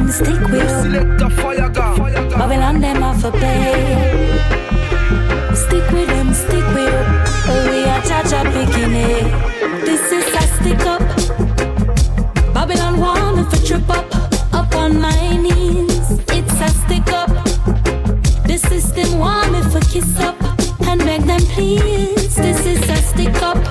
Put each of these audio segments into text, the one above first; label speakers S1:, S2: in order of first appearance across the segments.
S1: stick with them. Babylon them off a pay. Stick with them, stick with them. Oh, we are Jaja picking it. This is a stick up. Babylon want me for trip up on my knees. It's a stick up. The system want me for kiss up and beg them please. This is a stick up.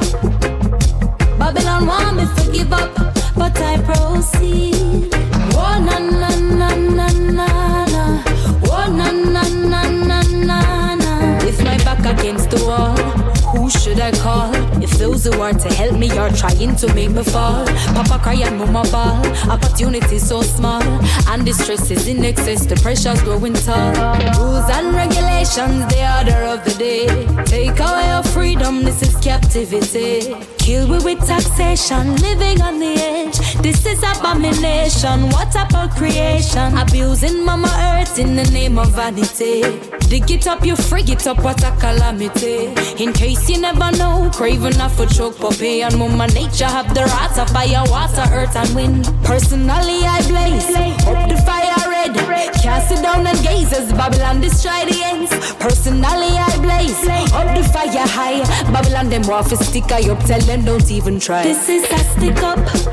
S1: Babylon want me for give up, but I proceed. Oh na na na na na na. Oh na na na na na na. With my back against the wall, who should I call? If those who are to help me are trying to make me fall. Papa cry and mama ball. Opportunity so small, and the stress is in excess. The pressure's growing tall. Rules and regulations, the order of the day. Take away your freedom, this is captivity. Kill we with taxation, living on the edge. This is abomination. What about creation? Abusing mama earth in the name of vanity. Dig it up, you frig it up, what a calamity. In case you never know, craving off a choke puppy. And mama nature have the wrath of fire, water, earth and wind. Personally I blaze, up the fire red. Cast it down and gaze as Babylon destroy the ends. Personally I blaze, up the fire high. Babylon them waffle stick I up, tell them don't even try. This is a stick up.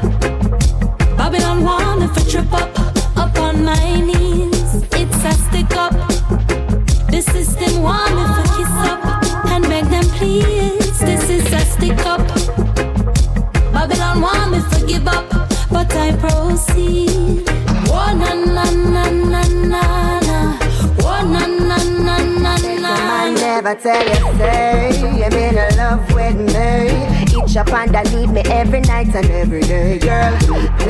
S1: Babylon want me for trip up on my knees. It's a stick up. The system want me for kiss up and beg them please. This is a stick up. Babylon want me for give up, but I proceed. Oh na na na na na na. Oh na na na na na.
S2: I never tell you say I'm in love with me. Each up and I need me every night and every day. Girl,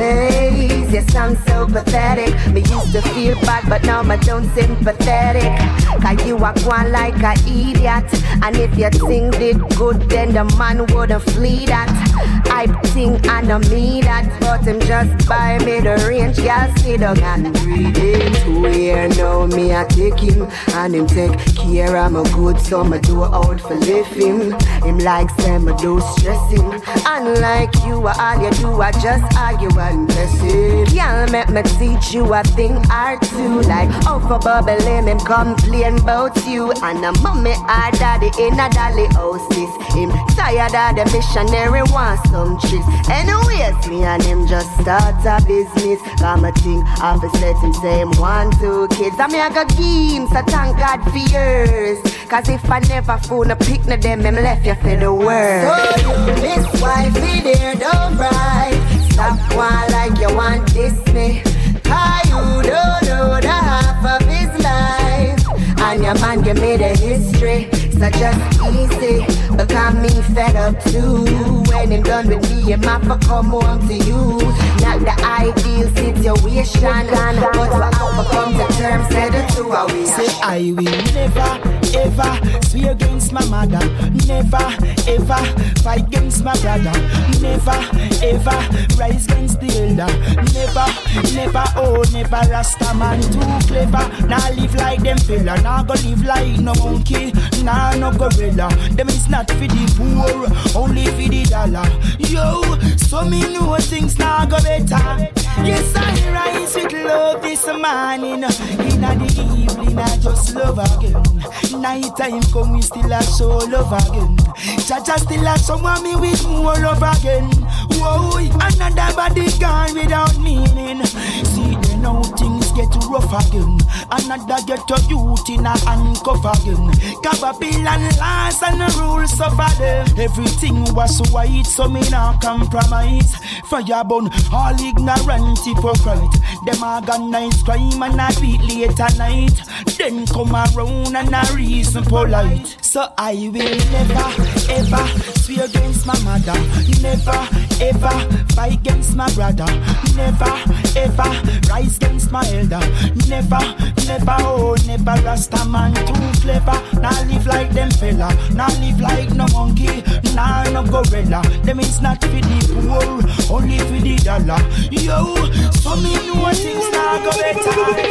S2: please, you sound so pathetic. Me used to feel bad, but now I don't sympathetic. Cause you are going like a idiot. And if you think it good, then the man wouldn't flee that. I think I know me that, but him just buy me the range. Y'all sit down and breathe it. 2 years now me I take him, and him take care of my good, so me do out for lift him. Him like say me do stress him. Unlike you, all you do I just argue and mess it. Y'all make me teach you a thing or two. Like out for bubbling, him complain about you. And a mommy or daddy in a dolly houses. Him tired of the missionary wants some tricks. Anyways, me and him just start a business. Got my thing, office let him say him 1, 2 kids. I mean I got games, so thank God for yours. Cause if I never phone a pick no them, him left you for the world. So you miss wifey there, don't cry. Stop one like you want this me. Cause you don't know the half of his life. And your man give me the history. So just easy, because me fed up too. When him done with me, him have to come home to you. Not the ideal situation, but we have to come to terms, say the two are we.
S3: Say I will never, ever swear against my mother. Never, ever fight against my brother. Never, ever rise against the elder. Never, never, oh never Rasta man too clever. Now live like them fella, now go live like no monkey. Nah, no gorilla, them is not for the poor, only for the dollar. Yo, so me know things now go better. Yes, I rise with love this morning. In the evening, I just love again. Night time come, we still a show love again. Jaja still a show me with more love again. Whoa, another body gone without meaning. See, then now things get rough again. Another get a youth in a handcuff again. Babylon laws and the rules suffer them. Everything was white, so me not compromise. Fire burn all ignorant hypocrite. Them organize crime and I beat late at night. Then come around and I reason polite. So I will never, ever swear against my mother. Never, ever fight against my brother. Never, ever rise against my elder. Never, never, oh never Rasta man too clever. Now live like them fella, now live like no monkey, nah no gorilla. Them is not for the poor, only for the dollar. Yo, so me know things now go better.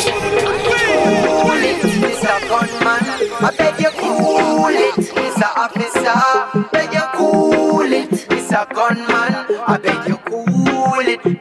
S4: Cool it, Mr. Gunman. I beg you cool it, Mr. Officer. Beg you cool it, Mr. Gunman. I beg you cool it, Mr.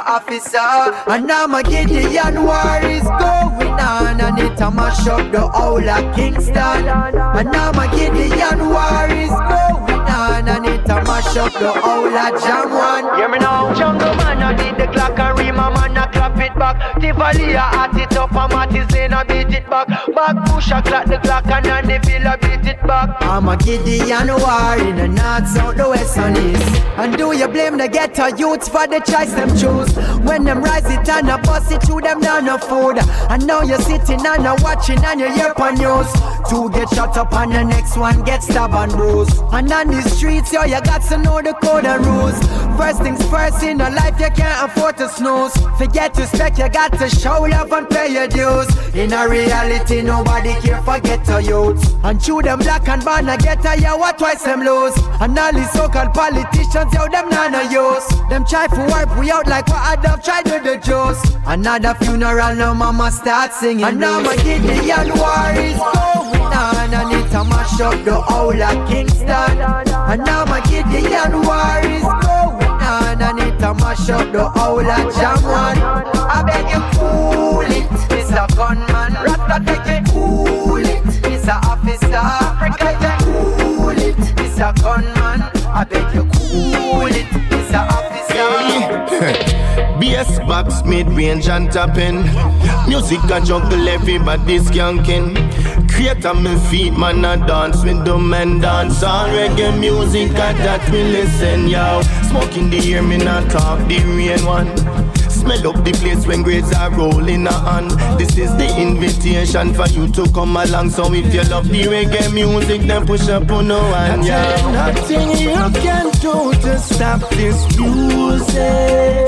S4: officer. And now my Gideon war is going on, and it a mash up the whole of Kingston. And now my Gideon war is going on, and it a mash up the whole of Jam 1. Hear me now, Jungle Man, I did the clock and Rima man, I clap it back. Tivoli, I at it up, and Mattis Lane, I beat it back. Back push, I clap the clock, and then the Villa beat it back. I'm a Gideon war in the north, south, the west and east. And do you blame the ghetto youths for the choice them choose? When them rise it and a bust it through them down no food. And now you're sitting and a watching and you hear on news. Two get shot up and the next one get stabbed and bruised. And on the streets, yo, you got to know the code and rules. First things first, in a life you can't afford to snooze. Forget to spec, you got to show love and pay your dues. In a reality, nobody care for ghetto youths. And chew them black and ban a ghetto, you what twice them lose. And all these so-called politicians, yo, them none use. Them try to wipe we out like what I'd have tried with the Jews. Another funeral, now mama start singing. And now my Gideon war is going on, and it a mash up the whole of Kingston. And now my Gideon war is going on, and it a mash up the whole of Jam 1. I beg you cool it, Mr. Gunman. Rat-tat-tat, cool it, Mr. Officer. I beg you cool it, Mr. Gunman. I beg you cool it, Mr. Officer.
S5: BS box, mid-range and tapping. Music a juggle, everybody's skanking. Create on my feet, man, I dance with the men dance. All reggae music, I that we listen, yo. Smoking the air, me not talk the rain one. Smell up the place when grades are rolling on. This is the invitation for you to come along. So if you love the reggae music, then push up on no hand, yeah. Nothing you can do to stop this music.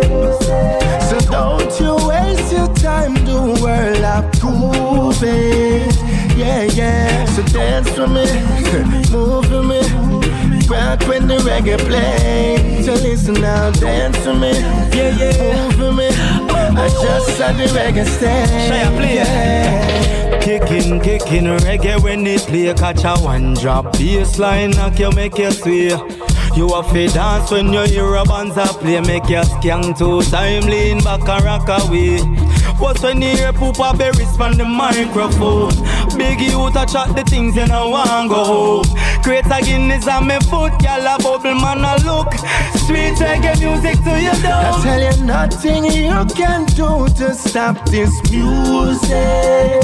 S5: So don't you waste your time, the world approve it. Yeah, yeah. So dance for me, move for me. Rock when the reggae play. So listen now, dance for me. Yeah, yeah. Move for me. I just saw the reggae stay.
S3: Shall I play?
S5: Yeah.
S3: Kicking reggae when it play. Catch a one drop bassline, knock you, make you sway. You have to dance when you hear a banza play. Make you skank 2 time, lean back and rock away. What's when you hear Poopa Berries from the microphone? Big youth a chat the things you know want go home. Create a Guinness on me foot, y'all a bubble man a look. Sweet reggae music to you down.
S5: I tell you nothing you can do to stop this music.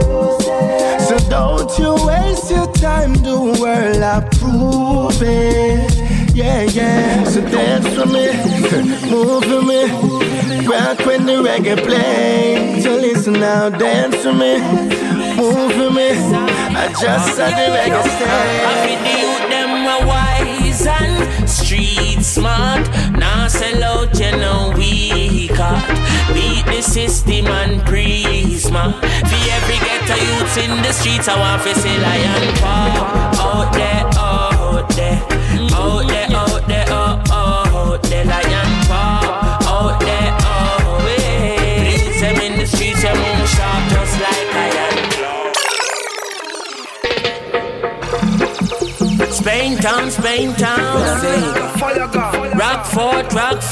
S5: So don't you waste your time, the world approve it. Yeah, yeah. So dance for me, move for me. Rock when the reggae play. So listen now, dance for me, move for me. I just saw the reggae stay.
S6: I feel the youth them a wise and street smart. Now sell out, you know we caught. Beat the system and prisma. For every ghetto youths in the streets, I want to say lion paw. Out there, out there, out there, out there, out there, lion paw. Out there, out there. Youths them in the streets, they move sharp just like lion claw. Spain town, Spain town. Rockford,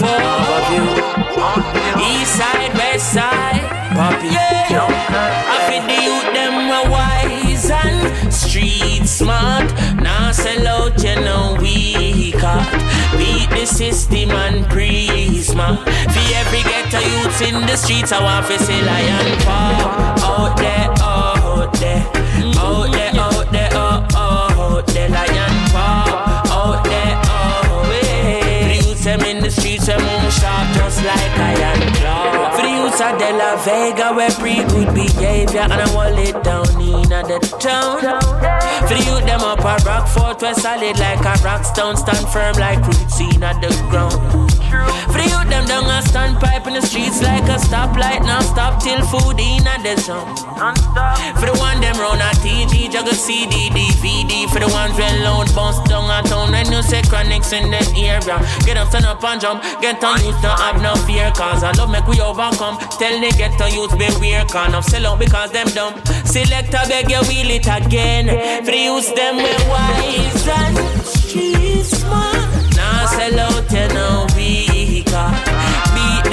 S6: East side, West side, Poppy. Yeah. I feel the youth them a wise and street smart. Now sell out, you know we caught. Beat the system and prisma. For every ghetto youths in the streets, I want to say lion paw. Out there, out there, out there, out there, out there, lion paw. Out there, out there. The youths them in the streets, they move sharp just like iron claw. For the youths of De La Vega, we pre good behavior and I wall it down in the town. For the youth them up a Rockfort, we solid like a rock stone, stand firm like roots in the ground. For the youth them down a standpipe in the streets like a stoplight, now stop till food in the zone. For the one them round a TG, juggle CD, DVD. For the ones well loud, bounce down a town when you say chronics in the area. Get up, stand up and jump, get on youth, don't have no fear. Cause I love make we overcome. Tell the ghetto youth beware, can't of sell out because them dumb. Select a beg you wheel it again. For the youth them we wise and street smart. Now sell out you know we got. Beat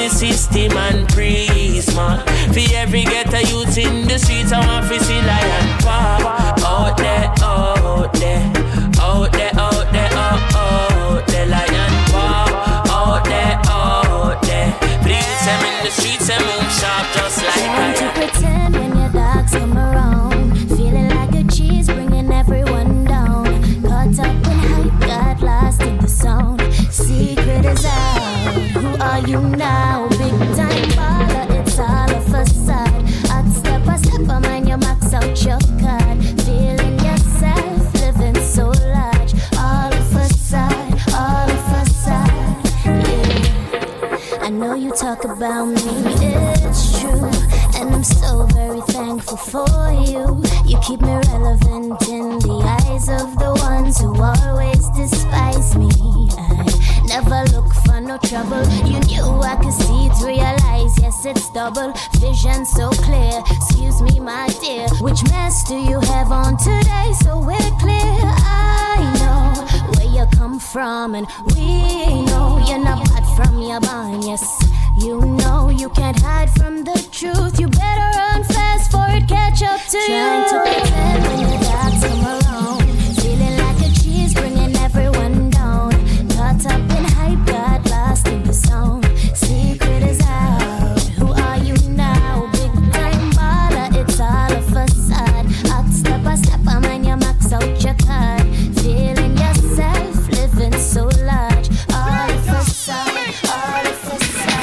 S6: the system and Prisma. For every ghetto youth in the streets, I want to see lion pop. Out there, out there, out there, out there, out there, lion pop. Out there, out there. Please, I'm in the streets and move sharp just like
S1: trying to
S6: I
S1: pretend when your dogs come around, feeling like a cheese, bringing everyone down. Caught up in hype, got lost in the sound. Secret is out. Who are you now? Big time baller, it's all a facade. Hot step by step, I mind you max out your card. Feeling yourself, living so large. All a facade, all a facade. Yeah. I know you talk about me, it's true. And I'm so very thankful for you. You keep me relevant in the eyes of the ones who always despise me. I never look for no trouble. You knew I could see it, realize, yes, it's double vision so clear. Excuse me, my dear, which mess do you have on today? So we're clear. I know where you come from, and we know you're not bad from your barn. Yes, you know you can't hide from the truth. You better run fast for it catch up to you. Trying to pretend when the dogs come around, feeling like a cheese, bringing everyone down. Caught up in hype, got lost in the sound. Secret is out. Who are you now? Big time baller, it's all a facade. Hot step by step, I mind you max out your card. Feeling yourself, living so large. All a facade, all a facade.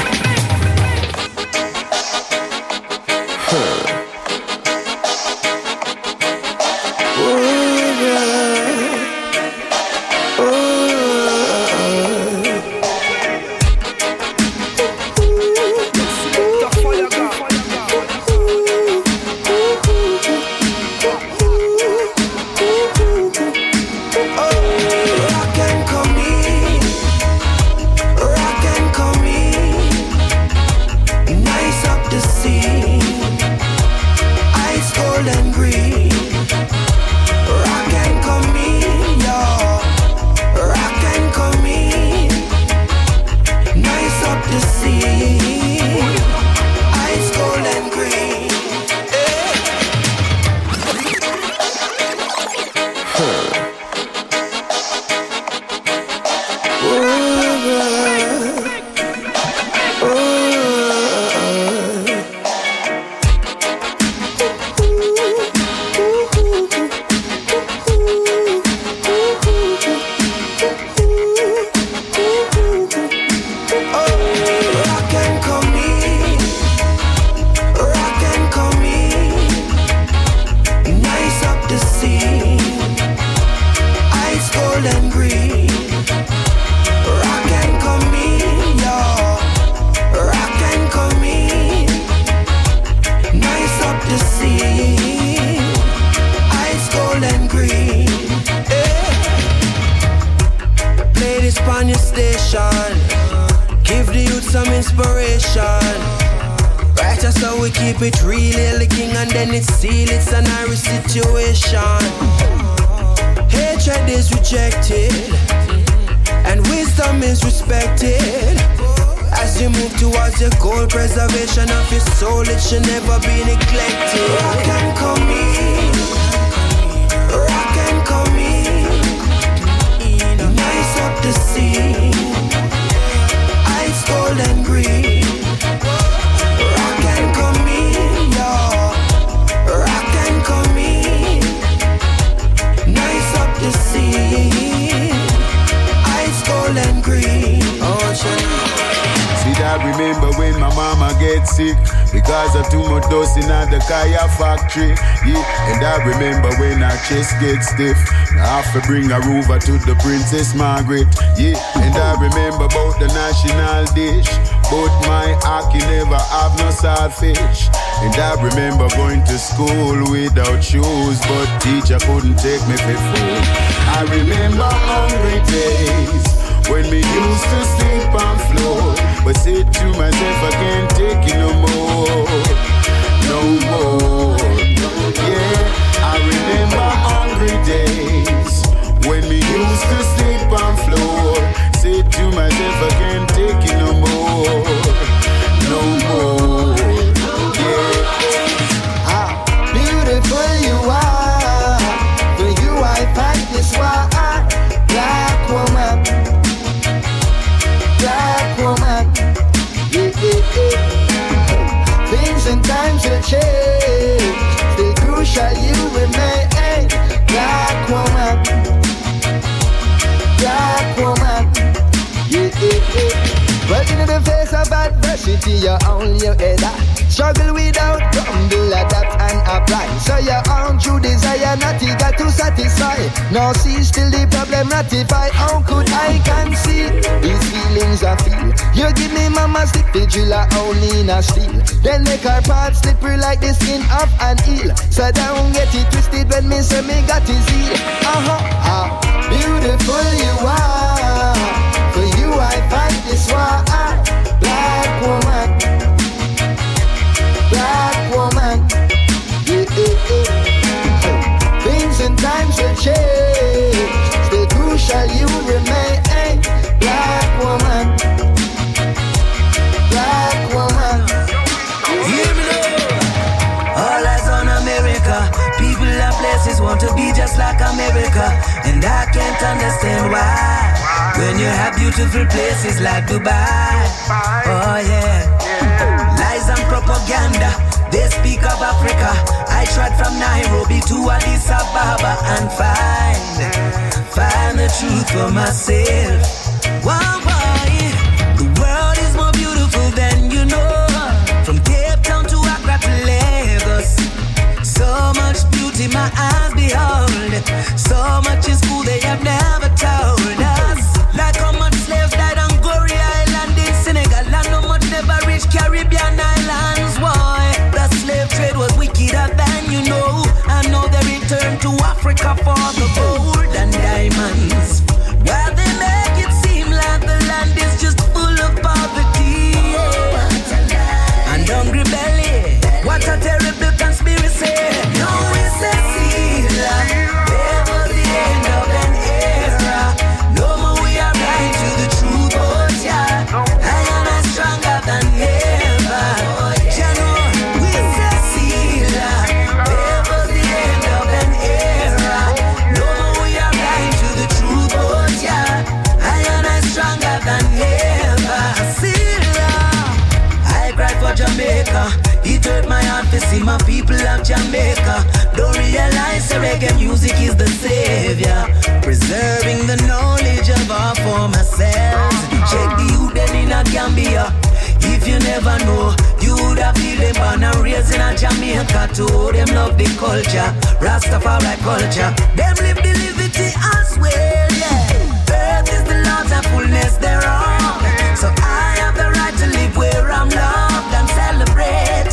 S7: Chest get stiff. I have to bring her over to the Princess Margaret. Yeah, and I remember about the national dish, but my hockey never have no saltfish. And I remember going to school without shoes, but teacher couldn't take me for food. I remember hungry days when we used to sleep on floor, but said to myself I can't take it no more, no more. Yeah. I remember hungry days when we used to sleep on floor. Said to myself I can't take it no more.
S3: will change, still crucial you remain. Black woman, black woman. Well, in the face of adversity, you only your head. Struggle without grumble, adapt and apply. So your own true desire, not eager to satisfy. No see, still the problem ratify. How could I conceal these feelings I feel? You give me mama stick, the driller only in a steel. Then make our parts slippery like the skin of an eel. So don't get it twisted when me say me got his heel. How beautiful you are. For you I fight this war. Black woman, black woman. Things and times will change, still crucial you remain. Black woman, black woman.
S8: Hear me now. All eyes on America. People and places want to be just like America, and I can't understand why. When you have beautiful places like Dubai, oh yeah. Lies and propaganda, they speak of Africa. I tried from Nairobi to Addis Ababa and find the truth for myself. Wow, boy, the world is more beautiful than you know. From Cape Town to Accra to Lagos, so much beauty my eyes behold. So much is cool they have never told us. Like how much slaves died on Gorée Island in Senegal, and how much never reached Caribbean islands. Why? The slave trade was wickeder than you know. And now they return to Africa for the gold and diamonds. While they make it seem like the land is just full of poverty and hungry belly. What a terrible conspiracy. No, it's a seal. Ever the end of an era. No more we are blind to the truth, but yeah, I am stronger than ever. Jano, it's a seal. Ever the end of an era. No more we are blind to the truth, but yeah, I am stronger than ever. Seal. I cried for Jamaica. It hurt my heart to see my people of Jamaica don't realize that reggae music is the savior, preserving the knowledge of our former selves. Check the youth then in a Gambia. If you never know, you would have feel them born and raised in a Jamaica too. Them love the culture, Rastafari culture. Them live the liberty as well, yeah. Earth is the Lord's and fullness thereof. So I have the right to live where I'm loved and celebrated.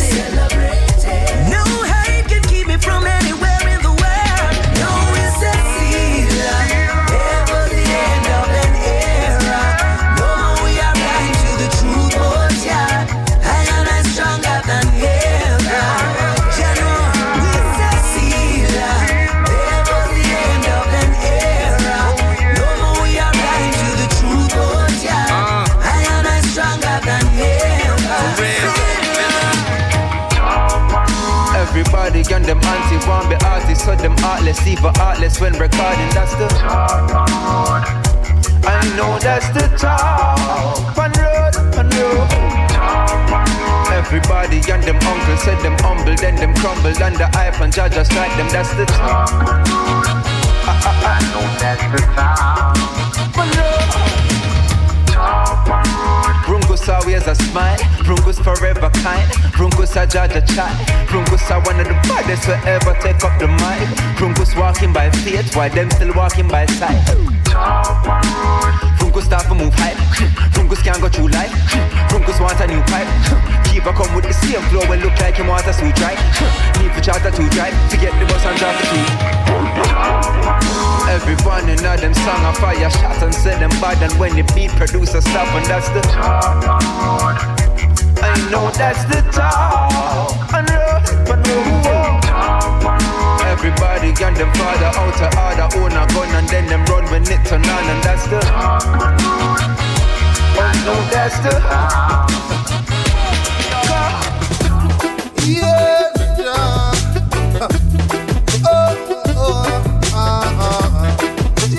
S8: No hate can keep me from anywhere in the world. No, it's a seal. Ever the end of an era. No more we are blind to the truth, but yeah, I am stronger than ever. Jano, it's a seal. Ever the end of an era. No more we are blind to the truth, but yeah, I am stronger than ever.
S9: Everybody on them anti want be artists, so them artless, even artless when recording. That's the I know that's the talk. One road. Everybody on them uncles said them humble, then them crumbled under hype and judge just like them. That's the talk. I know that's the talk. One road. Brungus always a smile, Brungus forever kind, Brungus a judge a child, Brungus are one of the baddest who ever take up the mic. Brungus walking by faith, while them still walking by sight. Brungus start to move hype, Brungus can't go through life, Brungus want a new pipe. Keep a come with the same flow and look like him want a suit right. Need for charter to drive, to get the bus and drive the key. Everyone in all them song a fire shot and say them bad, and when the beat producer stop, and that's the I know that's the talk. Everybody and them father out of order, own a gun and then them run when it turn on, and that's the I know that's the
S3: yeah.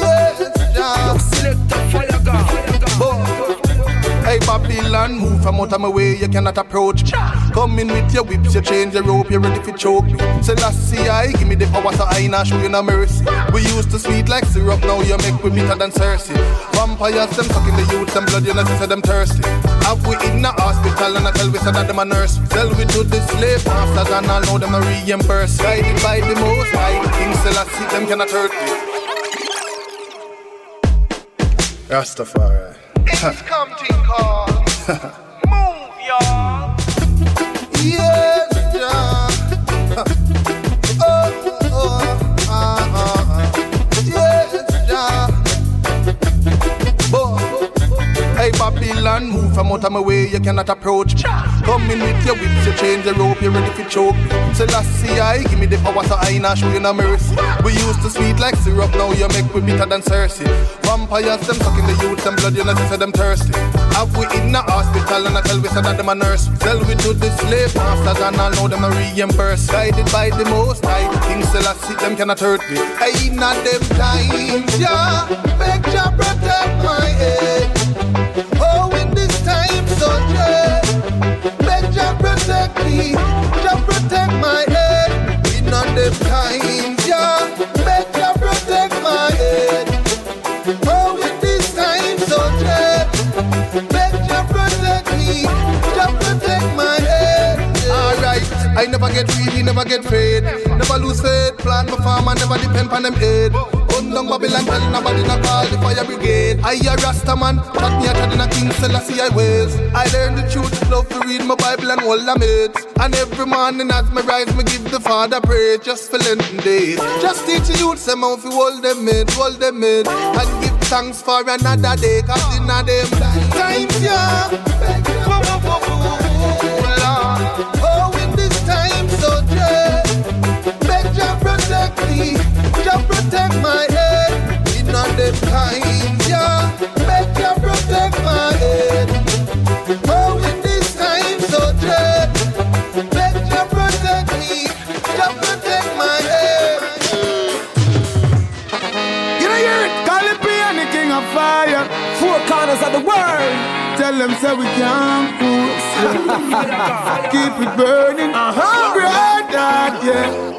S3: Hey Babylon, move from out
S10: of my way, you cannot approach me. Come in with your whips, you change your rope, you're ready to choke me. Say last see I give me the power so I not show you no mercy. We used to sweet like syrup, now you make we bitter than Cersei. Vampires, them sucking the youth, them blood, you know, say them thirsty. Have we in the hospital and I tell we say that them a nurse. Sell we to the slave masters and I know them a reimburse. Guided by the most high, the king still I see them cannot hurt me. Rastafari.
S5: It's come to call. Move, y'all.
S10: Yes, yeah. Yes, yeah. Hey Babylon, move from out of my way, you cannot approach me. Come in with your whips, you change the rope, you're ready to choke me. Say last see I give me the power so I not show you no mercy. We used to sweet like syrup, now you make we bitter than Cersei. Vampires, them sucking the youth, them blood, you know, say them thirsty. Have we in the hospital and I tell we say that them a nurse. Sell we to the slave masters and I know them a reimburse. Guided by the most high, the king still I see them cannot hurt me. I not them times, yeah. Beg Jah protect my head. Oh, in this time, so yeah. Beg Jah protect me. Jah protect my head. In not them times, yeah. Beg Jah protect my head. Oh, in this time, so yeah. Beg Jah protect me. Jah protect my head. Alright, I never get greedy, never get fed. Never lose faith, plan my farm and never depend on them aid. Undong Babylon, tell nobody not call the fire brigade. I a Rasta man, got me a chat in a King Selassie I ways. I learned the truth, love to read my Bible and all the mates. And every morning as me rise, me give the Father praise just for Lenten days. Just teach the youth some how to hold them mid, and give thanks for another day, cause in a them times, yeah. Oh, in this time, so yeah. Beg Jah protect me, Jah protect my head. In all them times, yeah. Beg Jah protect my head. Oh, in this time, so yeah. Beg Jah protect me, Jah protect my head.
S3: You know, hear it? Call it and the king of fire. Four corners of the world. Tell them say we can't push. Keep it burning. Brother, yeah.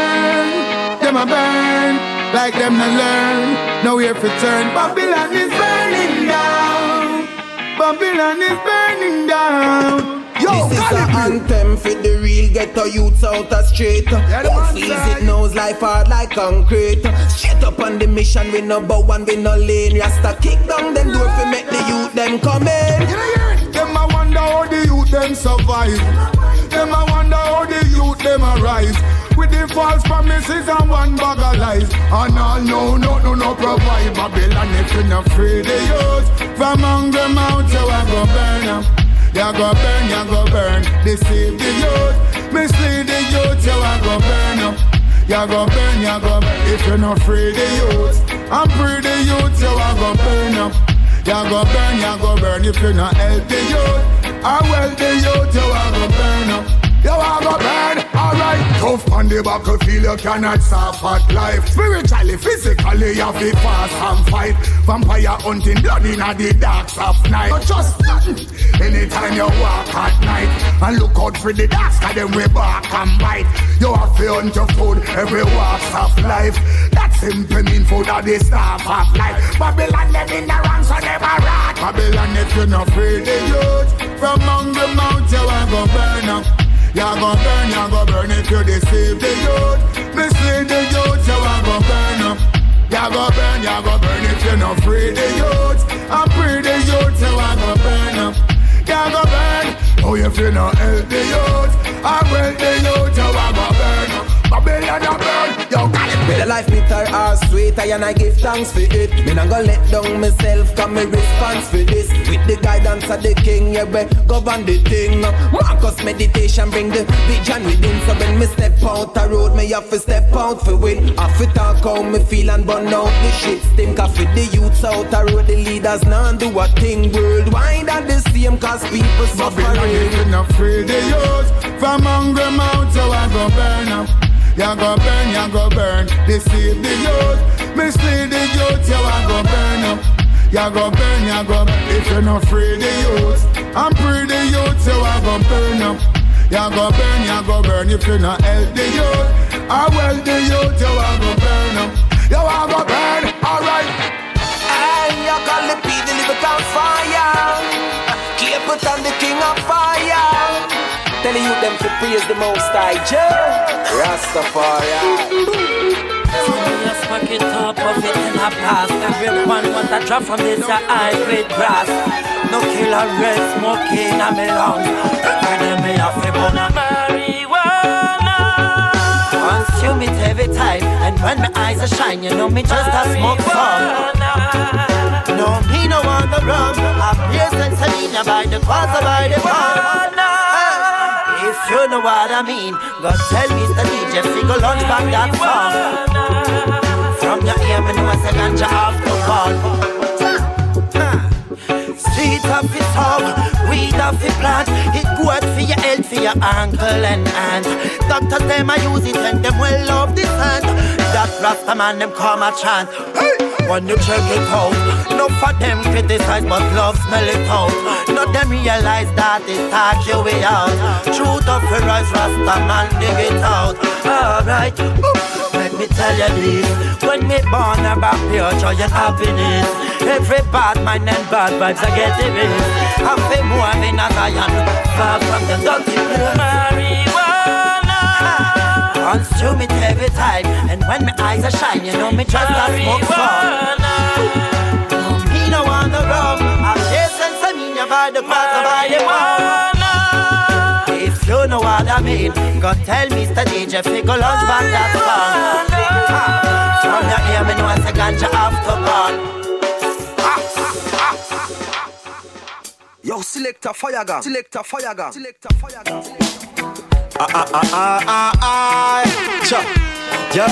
S3: Them a burn. Like them to learn. Now we have to turn. Babylon is burning down. Babylon is burning down. Yo,
S11: this is an anthem for the real ghetto youths out the street. Who feels it knows life hard like concrete. Straight up on the mission, we no bow and we no lane. Rasta kick down them door for make the youth them come in.
S3: Them a wonder how the youth them survive. Them a wonder how the youth them arise. With the false promises and one bag of lies. And all no provide. Babylon if you not free the youth. From hunger mount you a go burn them. You go burn, deceive the youth, mislead the youth, you go burn up. You go burn, if you not free the youth, and free the youth, you go burn up. You go burn, if you not help the youth, and well the youth, you go burn up. You go burn, alright. Tough on the battlefield, you cannot suffer life. Spiritually, physically, you have to fast and fight. Vampire hunting, blood in the darks of night. But just nothing. Anytime you walk at night and look out for the darks, cause them we bark and bite. You have to hunt your food every walk of life. That simply mean food at the start of life. Babylon them in the ranks so them a rat. Babylon if you not free the youth, from among the mount you a go burn up. You go burn if you deceive the youth. Mislead the youth, you a go burn up. You go burn if you not free the youth. And free the youth, you a go burn up. You go burn, oh if you not help the youth. And well the youth, you a go burn up. Babylon a burn, yo got it.
S11: The life bitter or sweet, and I give thanks for it. Me not gonna let down myself, cause me response for this. With the guidance of the king, yeah, we govern the thing. Marcus meditation bring the vision within. So when me step out the road, me have to step out for win. Have to talk how me feel and burn out the shit. Think of it, the youths out the road, the leaders now do a thing worldwide and the same, cause people suffering.
S3: Babylon if you not free the youth, from hungry mount you a go burn up. You go burn, deceive the youth, mislead the youth, you a go burn up.
S7: You go burn, you go burn. If you're not free the youth, I'm free the youth, so I go burn up. You go burn if you're not help the youth. I well the youth, you I go burn up. You I go burn, alright.
S11: Hey, you call the P, the lyrical fire. Keep it on the king of fire. Telling you them to praise the most high Jah Rastafari.
S6: Just pack it up, of it in a pass. Everyone want a drop from this high grade grass. No killer red smoking a me lungs. Where them me a fi burn a marijuana. Consume it every time, and when my eyes are shine, you know me just a smoke some. No, me no want the rum. I praise and Selena by the quarter by the pound. If you know what I mean, God tell me the DJ figure launch back that song. From your ear, me know it's a ganja off the ball. Street of the tongue, weed of the plant. It good for your health, for your ankle and hand. Doctors them a use it and them well love this hand. That Rasta man them come a chant. When you check it out, no for them criticize but love smell it out. No them realize that it talk you way out. Truth of the rise Rasta man dig it out. Alright, let me tell you this. When me born about pure joy and happiness, every bad mind and bad vibes I get it in. I feel more than a Zion, far from the dirty marijuana. Consume it every time, and when my eyes are shine, you know me just a smoke fun. No, me no want the rum. I'm chasing some in your by the quarter by the one. If you know what I mean, go tell Mr. DJ figure launch back that song. From your ear, me know it's a ganja after burn.
S11: Yo, selector fire gun, selector fire gun, selector fire gun.
S12: Yo,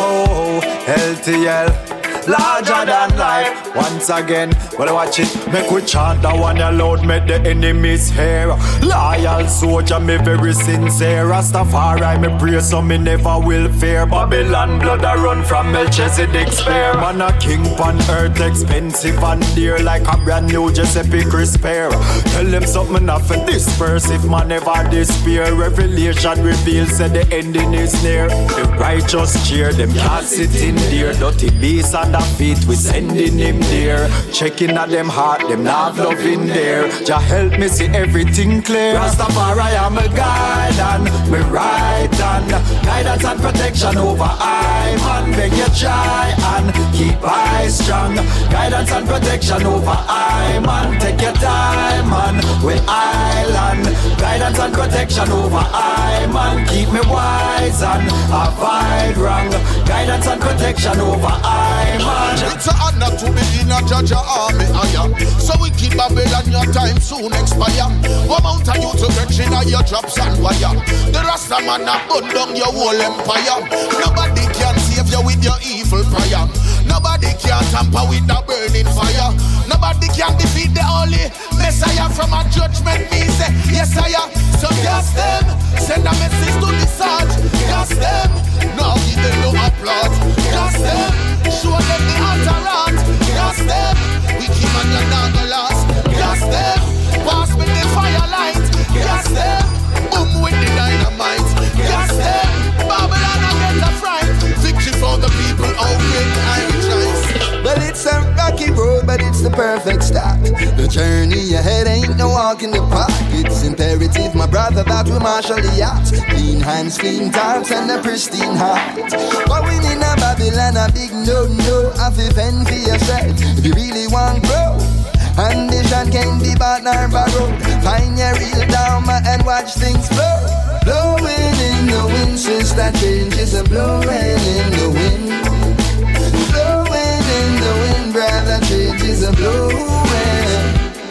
S12: LTL, larger than life. Once again, well I watch it. Make we chant that one aloud, make the enemies hear. Loyal soldier, me very sincere. Rastafari, me pray so me never will fear. Babylon blood a run from Melchizedek's spear. Man a king on earth, expensive and dear. Like a brand new Giuseppe Crisper. Tell them something not for disperse if man never despair. Revelation reveals that the ending is near. The righteous cheer, them can't sit in there. Dirty beasts and the feet, we sending him there. Checking at them heart, them not love in there. Jah help me see everything clear. Rastafari am a guide and me right hand. Guidance and protection over I man. Beg you try and keep eyes strong. Guidance and protection over I man. Take your time man, we island. Guidance and protection over I man. Keep me wise and avoid wrong. Guidance and protection over I man.
S10: It's an honor to be in a Jaja army, so we keep Babylon, your time soon expire. One amount of you to get in your drops and wire. The Rasta man a burn down your whole empire. Nobody can save you with your evil prayer. Nobody can tamper with the burning fire. Nobody can defeat the holy Messiah. From a judgment me say, yes I am. So cast them, send a message to the surge. Cast them, now give them no applause. Cast them, show them the altar. Cast them, we keep on your naga last. Cast them, pass with the firelight. Cast them, boom with the dynamite. Cast them, Babylon and get a fright. Victory for the people, oh great I rejoice.
S11: Well, it's a rocky road, but it's the perfect start. The journey ahead ain't no walk in the park. It's imperative, my brother, that we marshal the yacht. Clean hands, clean thoughts, and a pristine heart. Going in a Babylon, a big no-no. Have to fend for yourself if you really want grow. Ambition can't be bought nor borrowed. Find your real dharma and watch things flow. Blowing in the wind, since that change is a blowing in the wind. Blowing in the wind, brother, change is a blowing.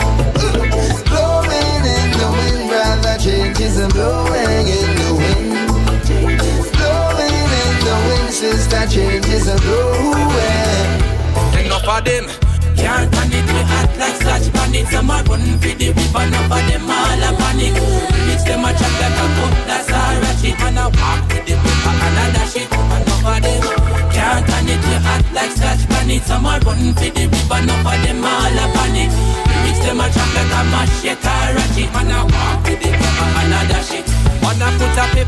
S11: Blowing in the wind, brother, change is a blowing in the wind. Blowing in the wind, since that change is a blowing.
S6: Enough of them can't stand it, we act like such bandits. Some are running for the river, enough of them all a panic. It's them a chat like a cup, that's all ratchet. And I walk with the river and I dash it. Enough of them can't stand it, we act like such bandits. Some are running for the river, enough of them all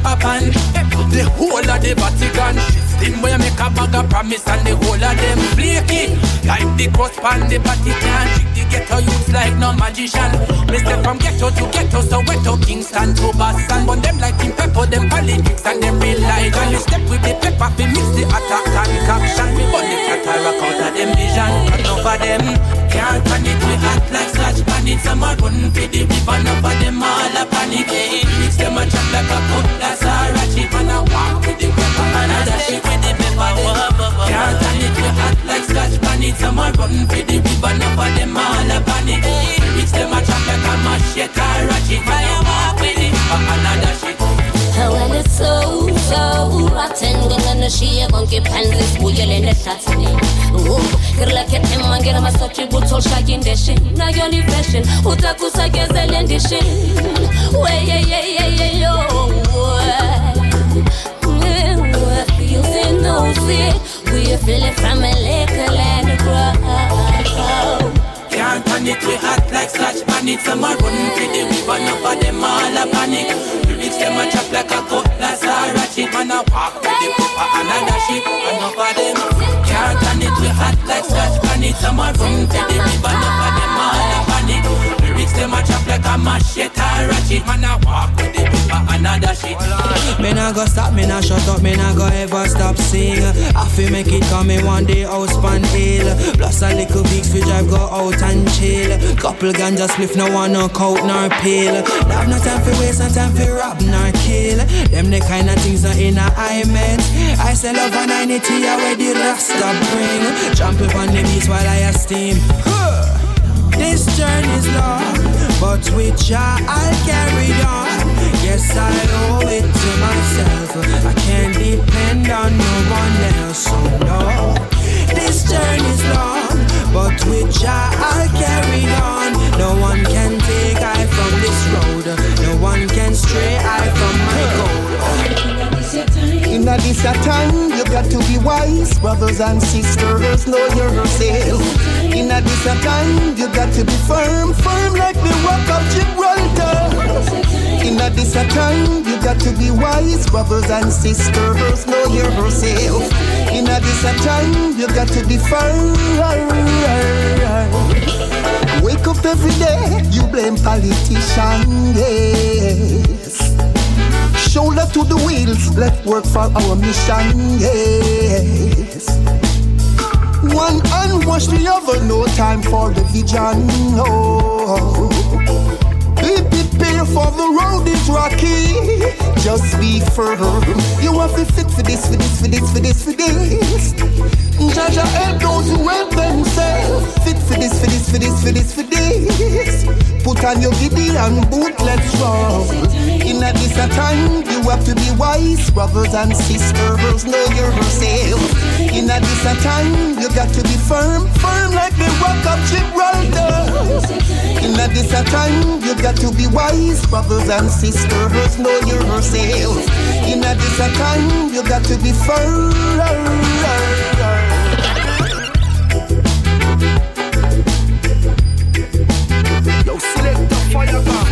S3: pepper pan. The whole of the Vatican shifting where make a bag of promise and the whole of them flaky. Like the cross pan, the Vatican trick the ghetto youths like no magician. Me step from ghetto to ghetto, so wetto Kingston to Boston. But them like in pepper, them politics and them real life. And you step with the pepper, we mix the attack and caption. We burn the cataract out of them vision. And over them can't turn it, we act like scratch panic. Some are running for the river, none of them all a panic. Mix them a chop like a cutlass or a chip. And I walk with the pepper and I dash it with the pepper. Can't turn it, we act like scratch panic. Some are running for the river, none of them all a panic. Mix them a chop like a machete or a chip. And I walk with the pepper and I dash it.
S1: Well, it's so rotten. Gonna she gon' keep hands who you in the shots me. Girl like it him and get my such a good soul shaking the shit. Now you're the fashion. Utakusa gezel and the shit. Way yo. You say no see. We feel it from a little and grow.
S3: Can't turn it, we act like scratch panic. Some are running for the river, enough of them all a panic. Lyrics them a chop like a cutlass or a chip. And I walk with the pepper and I dash it. Enough of them can't turn it, we act like scratch panic. Some are running for the river, enough of them all a panic. Lyrics them a chop like a machete or a chip. And I walk with the pepper and I dash it.
S13: Me nah go stop, me nah shut up, me nah go ever stop sing. I feel make it come in one day house pan hill. Plus a little weeks we drive go out and chill. Couple ganja spliff, no one no coat nor pill. Have no time for waste, no time for rob nor kill. Them the kind of things that in a I meant. I sell love and I need to hear where the Rasta bring. Trample on the beats while I steam. This journey's long, but with Jah I'll carry on. Yes, I owe it to myself. I can't depend on no one else, so no. This journey's long, but with Jah I'll carry on. No one can take I from this road. No one can stray I from my goal.
S14: In this time, you got to be wise, brothers and sisters, know yourself. In this time, you got to be firm like the rock of Gibraltar. In this time, you got to be wise, brothers and sisters, know yourself. In this time, you got to be firm. Wake up every day, you blame politicians, yes. Shoulder to the wheels, let's work for our mission, yes. One hand wash the other, no time for the vision, no. Be prepared for the road is rocky, just be firm. You have to fit for this. Jaja help those who help themselves. Fit for this. Put on your Gideon boot, let's roll. In this time, you have to be wise, brothers and sisters, know yourself. In this time, you got to be firm like the rock of Gibraltar. In this time, you got to be wise, brothers and sisters, know yourself. In this time, you got to be firm.
S3: Yo, select the fire gun.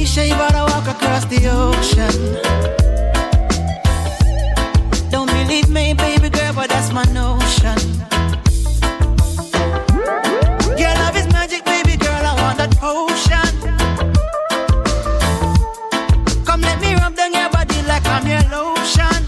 S3: cliche, but I walk across the ocean. Don't believe me, baby girl, but that's my notion. Your love is magic, baby girl, I want that potion. Come let me rub down your body like I'm your lotion.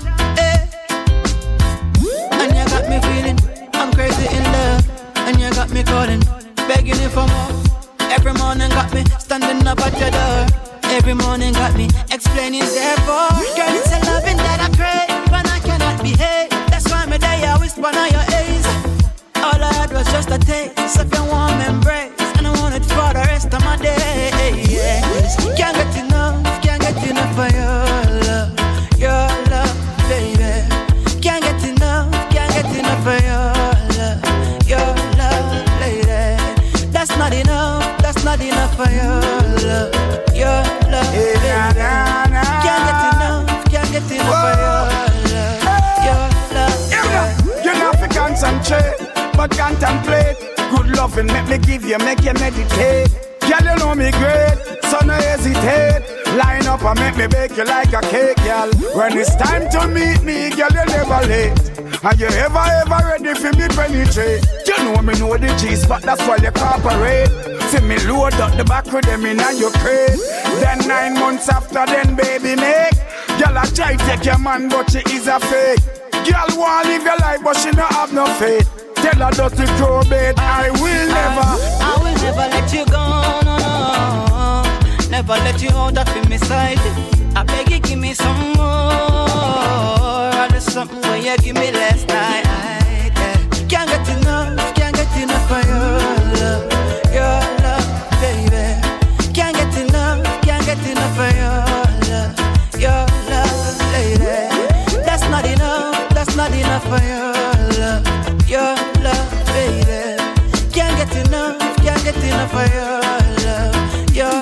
S3: And you got me feeling, I'm crazy in love. And you got me calling, begging you for more. Every morning got me standing up at your door. Every morning got me explaining therefore. Girl, it's a loving that I crave, but I cannot behave. That's why me day I whisper on your A's. All I had was just a taste of your warm embrace, and I want it for the rest of my days. Can't get enough of your love, baby. Can't get enough of your love, lady. That's not enough for your love, baby. Can't get enough for your love,
S15: You know if you concentrate, but contemplate. Good loving, make me give you, make you meditate. Girl, you know me great, so no hesitate. Line up and make me bake you like a cake, girl. When it's time to meet me, girl, you never late. Are you ever ready for me penetrate? You know me know the G's, but that's why you cooperate. See me load up the back with them in and you crate. Then 9 months after, then baby make. Girl, I try take your man, but she is a fake. Girl want live your life, but she don't have no faith. Tell her just to grow bait. I will never
S3: let you go, no. Never let you out of my side. I beg you, give me some more. Or there's something where you give me last night. Can't get enough of your love, baby. Can't get enough of your love, lady. That's not enough for your love, baby. Can't get enough for your love, girl.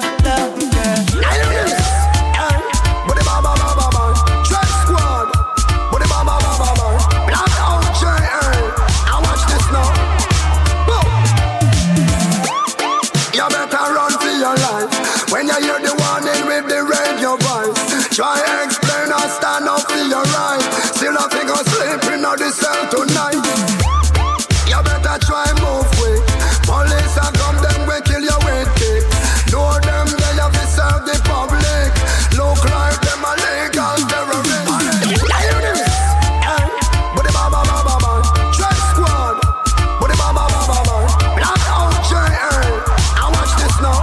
S16: When you hear the warning with the radio voice, try explain or stand up for your right. Still I think I'll sleep in the cell tonight. You better try move quick. Police are come, them will kill you with kick. Know them, they have to serve the public. Look like them a legal terrorist. Buddy baba baba baba, Trap Squad. Buddy baba baba baba, Black Out J.A. I watch this now.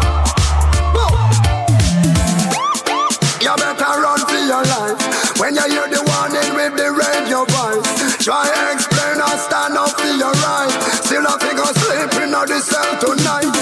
S16: You better run for your life. When you hear the warning with the radio voice, try explain or stand up for your right. Still I think I'll sleep in the cell tonight.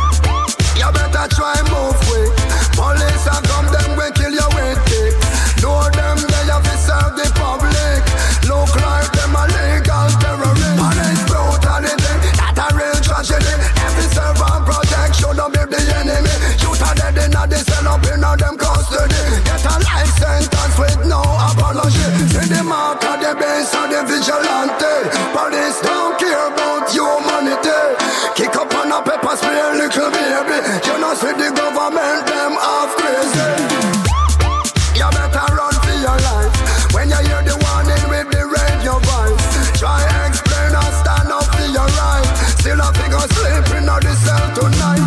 S16: You better try move quick. Police are come, them will kill you with kick. Know them, they have to serve the public. Look like them a legal terrorist. And it's brutality, that a real tragedy. Every servant protect should not be the enemy. Shoot a dead in the cell up in them custody. Get a life sentence with no apology. See the mark of the base of the vigilante. Police don't care about humanity. Kick up on a pepper spray, little baby. You know see the government, them half crazy. You better run for your life. When you hear the warning with the radio voice, try explain or stand up for your right. Still I think I'll sleep in the cell tonight.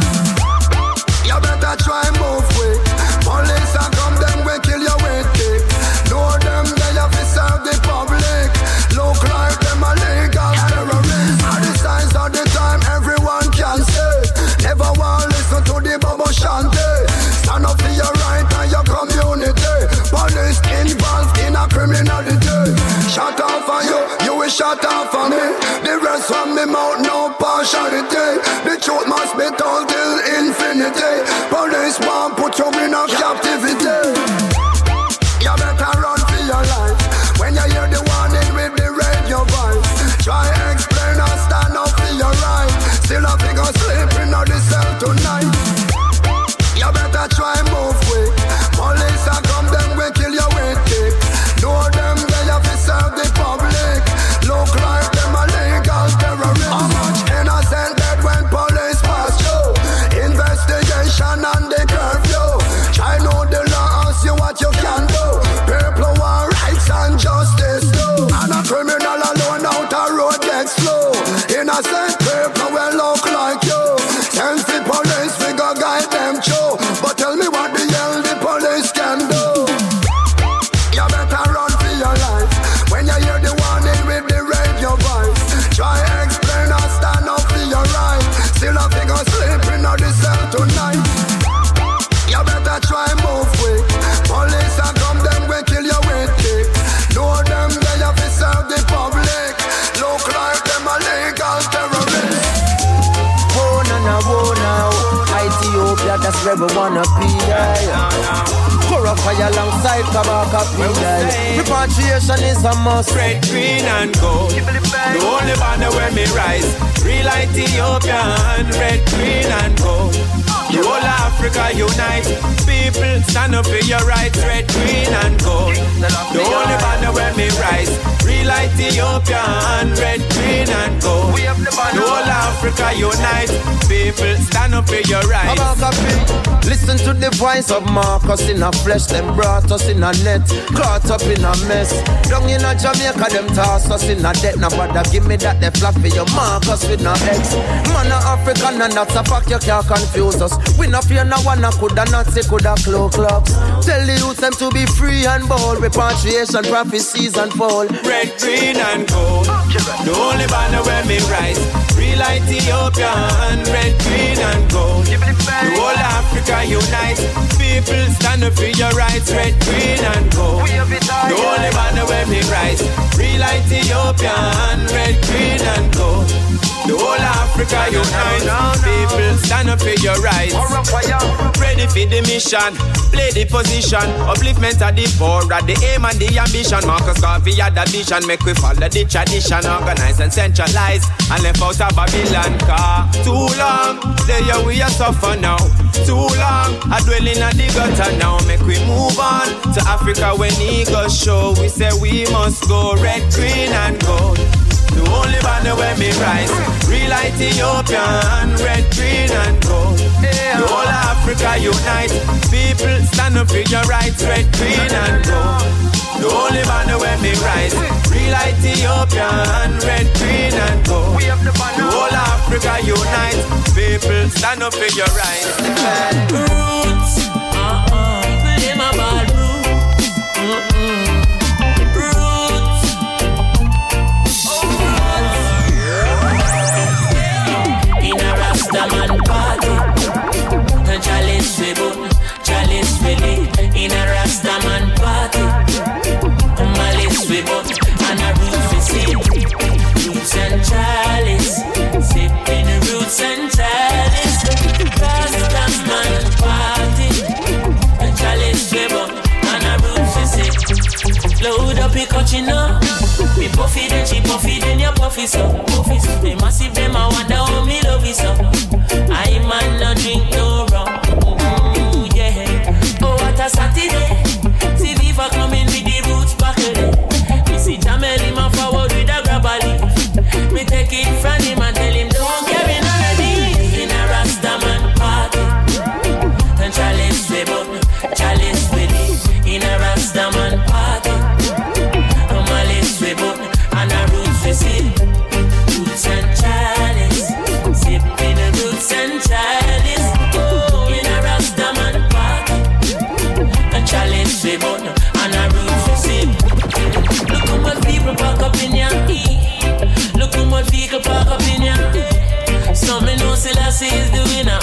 S16: You better try move quick. Police are come, them will kill you with kick. Know them, they have to serve the public. Look like them a legal terrorist. At the signs of the time, everyone can say. Never want listen to the bubble shanty. Stand up for your right and your community. Police involved in a criminality. Shut off on you, you will shut off on me. The rest from me mouth, no partiality. The truth must be told till infinity. Police won't put you in a captivity. You better run for your life. When you hear the warning with the radio voice, try explain or stand up for your right. Still I think I'll sleep in the cell tonight. You better try move quick. Police are come, them will kill you with kick. Know them, they have to serve the public. Look like them a legal terrorist. How much innocent dead when police pass through? Investigation and the curfew. Try
S11: we wanna be there. Kura fire alongside Kabaka P. Repatriation is a must.
S17: Red, green and gold. The only banner where me rise. Real Ethiopian. Red, green and gold. The whole Africa unite. People stand up for your rights. Red, green and gold. The only banner where me rise. Real Ethiopian. Red, green and gold. The whole Africa unite. People stand up for your rights.
S11: Listen to the voice of Marcus in a flesh. Them brought us in a net, caught up in a mess. Down in a Jamaica, them toss us in a debt. Now bother give me that they flap for your Marcus with no X. Man a African and that's a fact, you can't confuse us. We no fear no one, coulda not say coulda cloak clocks. Tell the youth them to be free and bold. Repatriation, prophecies and fall.
S17: Red, green and gold. The only banner where me rise. Real Ethiopian. Red, green and gold. The whole Africa unite. People stand up for your rights. Red, green and gold. The only banner where me rise. Real Ethiopian. Red, green and gold. The whole Africa unite. People stand up for your rights. Ready for the mission. Play the position. Upliftment of the poor. At the aim and the ambition. Marcus Garvey had the vision. Make we follow the tradition. Organize and centralize. And left out of Babylon. Car too long. There we are suffer now. Too long. I dwell in the gutter now. Make we move on to Africa when eagles show. We say we must go. Red, green and gold. The only banner where me rise. Real Ethiopian. Red, green and gold. The whole Africa unite. People stand up for your rights. Red, green and gold. The only banner where me rise. Real Ethiopian. Red, green and gold. The whole Africa unite. People stand up for your rights.
S6: Roots. Play my ball, roots. Man party, chalice we boom, chalice we lit. In a Rastaman party, malice we boom, and a roots we sip. Roots and chalice, sipping roots and chalice. Rastaman party, chalice we boom, and a roots we sip. Load up your cochino. Me puffy then she puffy then you puffy so. They massive them I wonder how me love it so. I man no drink no rum. Yeah. Oh what a Saturday. See Viva coming with the roots back there. Me see Jamel him a forward with a grabber leaf. Me take it from him and tell him don't carry none of these. In a Rastaman party. And chalice we bun, chalice we leave. In a Rastaman party. And a roots we sip, roots and chalice, sipping the roots and chalice. Oh, in a Rastaman party, a chalice we burn and a roots we sip. Look how much people park up in ya. Look how much vehicle park up in ya. Some me know Selassie is the winner.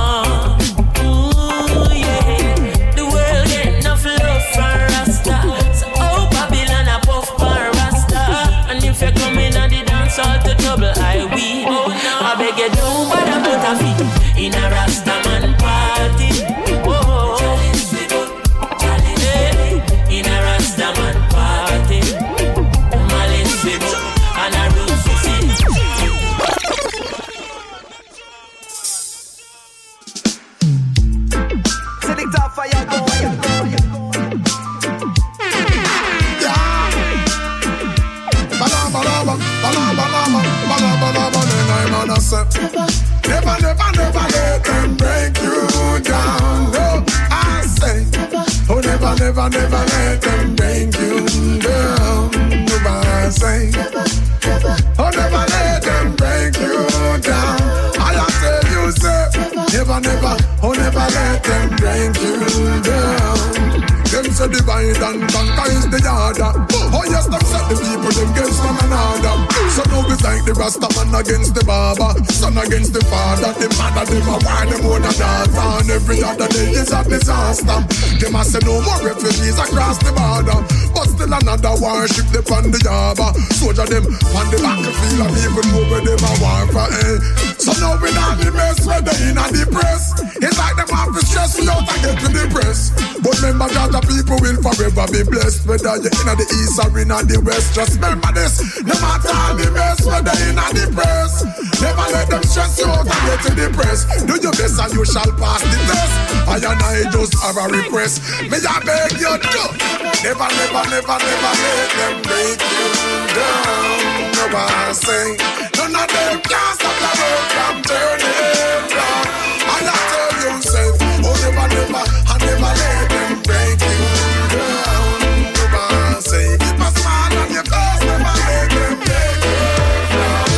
S6: Ooh yeah, the world get enough love for Rasta. So oh Babylon a puff for Rasta. And if you come in and the dance all to trouble, I will. Oh, no. I beg you don't bother put a feet in a Rastaman party. Oh, chalice we go, chalice in a Rastaman party. Malice we go, and a roots we see.
S11: Sitting top fire go.
S16: Never let them break you down. No, I say, oh, never let them break you down. I say, oh, never let them break you down. I tell you, say, never, oh, never let them break you down. Them say divide and conquer is the order. Oh yes, them set the people them against one another. So now it's like the Rastaman against the barber, son against the father, the mother them a war them own a daughter. And every other day is a disaster. Them a say no more refugees across the border.
S18: but still another warship they on the harbor. Soldier them on the battlefield and even know where them a war for. So now we not the mess where they in a depress. It's like them have to stress me out and get to the press. But remember that the people will forever be blessed. Whether you're in the east or in the west, just remember this. No matter how the mess where they in a depress. Never let them stress you out and get to the press. Do your best and you shall pass the test. I and I just have a request. May I beg you to never, never, never, never let them break you down. No, I say none of them can stop the road from turning round. I tell you, say, oh, never, never, I never let them break you down. No, I say keep a smile on your face, never let them break you down.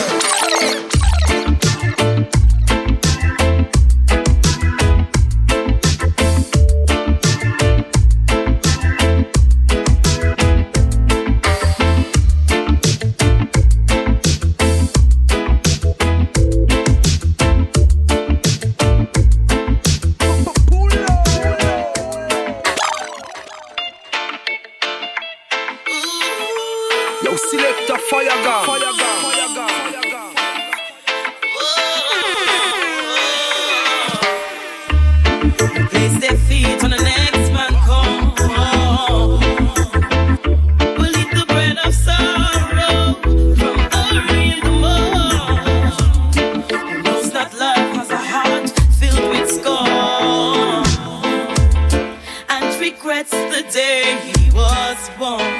S8: Place their feet on the next man come. We'll eat the bread of sorrow from early in the morning. Who knows that love has a heart filled with scorn and regrets the day he was born.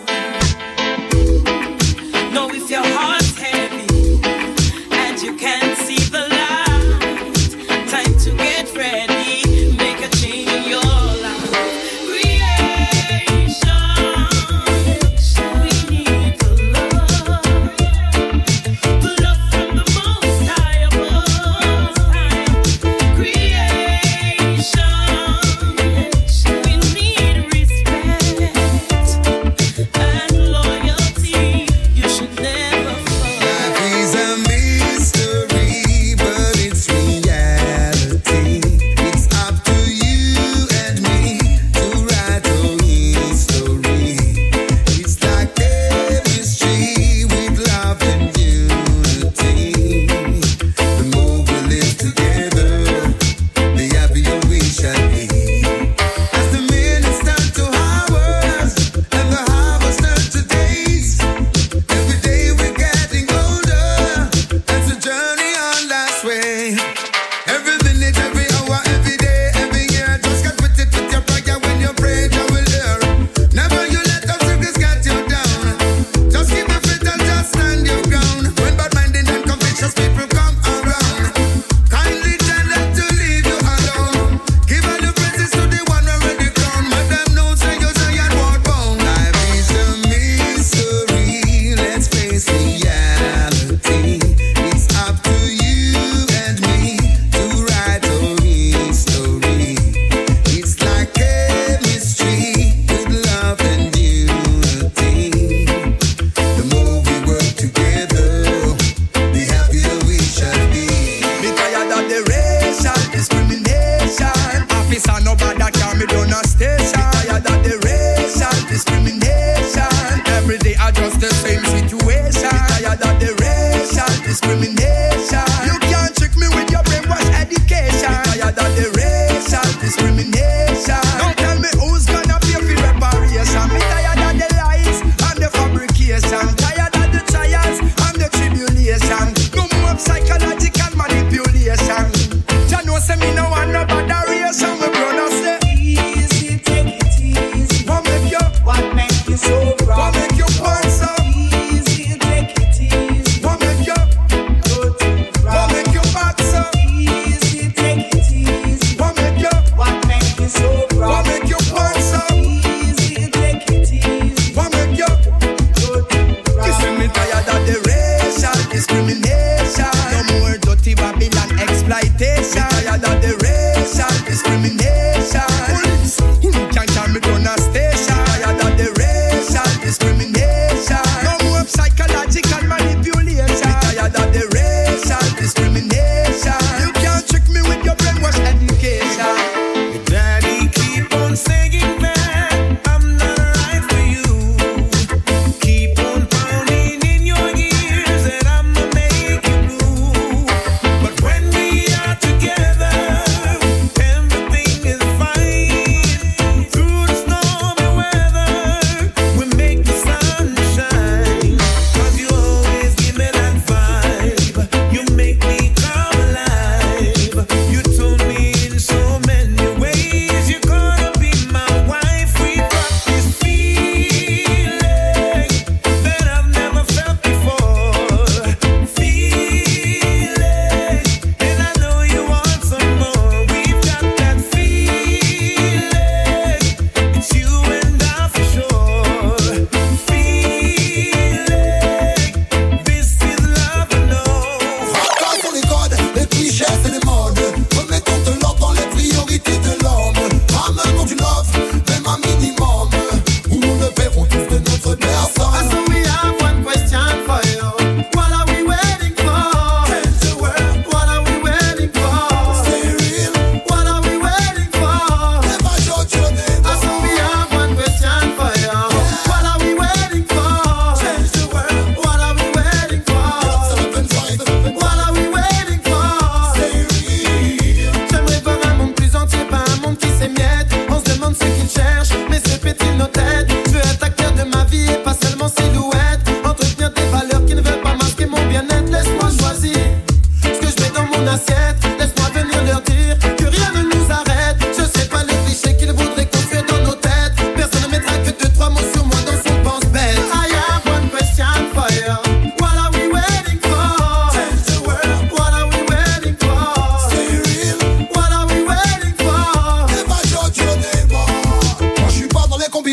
S8: Know if your heart's heavy and you can't see the light, time to get ready. Never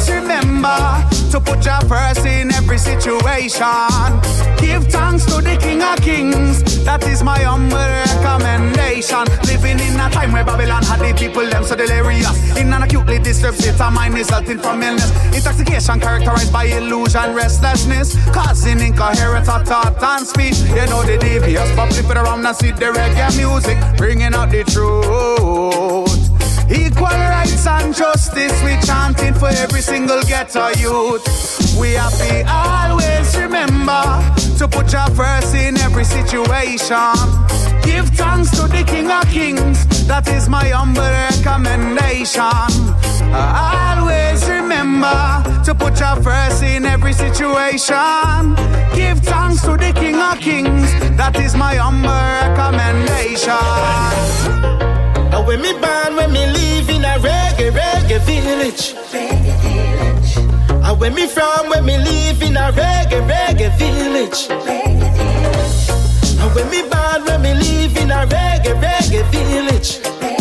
S15: always remember to put your first in every situation. Give thanks to the King of Kings. That is my humble recommendation. Living in a time where Babylon had the people them so delirious. In an acutely disturbed state of mind resulting from illness. Intoxication characterized by illusion, restlessness, causing incoherence of thought and speech. You know the devious, but flip it around and see the reggae music, bringing out the truth. Equal rights and justice, we chanting for every single ghetto youth. We have to always remember to put your first in every situation. Give thanks to the King of Kings. That is my humble recommendation. Always remember to put your first in every situation. Give thanks to the King of Kings. That is my humble recommendation.
S3: When me born, when me live in a reggae village. And when me from, when me live in a reggae village. And when me born, when me live in a reggae village.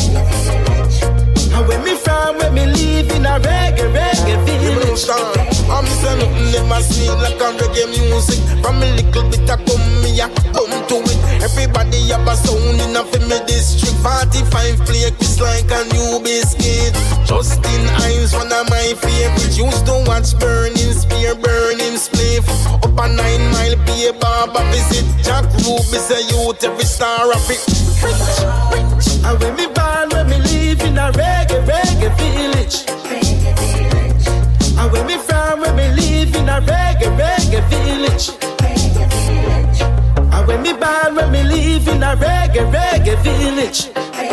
S3: And when me from, when me live in a reggae village.
S19: I'm saying nothing never seen like a reggae music. From a little bit of come me a come to it. Everybody have a sound in a family district. 45 play Chris like a new biscuit. Justin Hines, one of my favorites. Used to watch Burning Spear, Burning Spliff. Up a 9 Mile Bay Barber visit. Jack Ruby say youth every star of it.
S3: And when me born, when me live in a reggae village. And when me from, when me live in a reggae village. And when me born, when me live in a reggae village.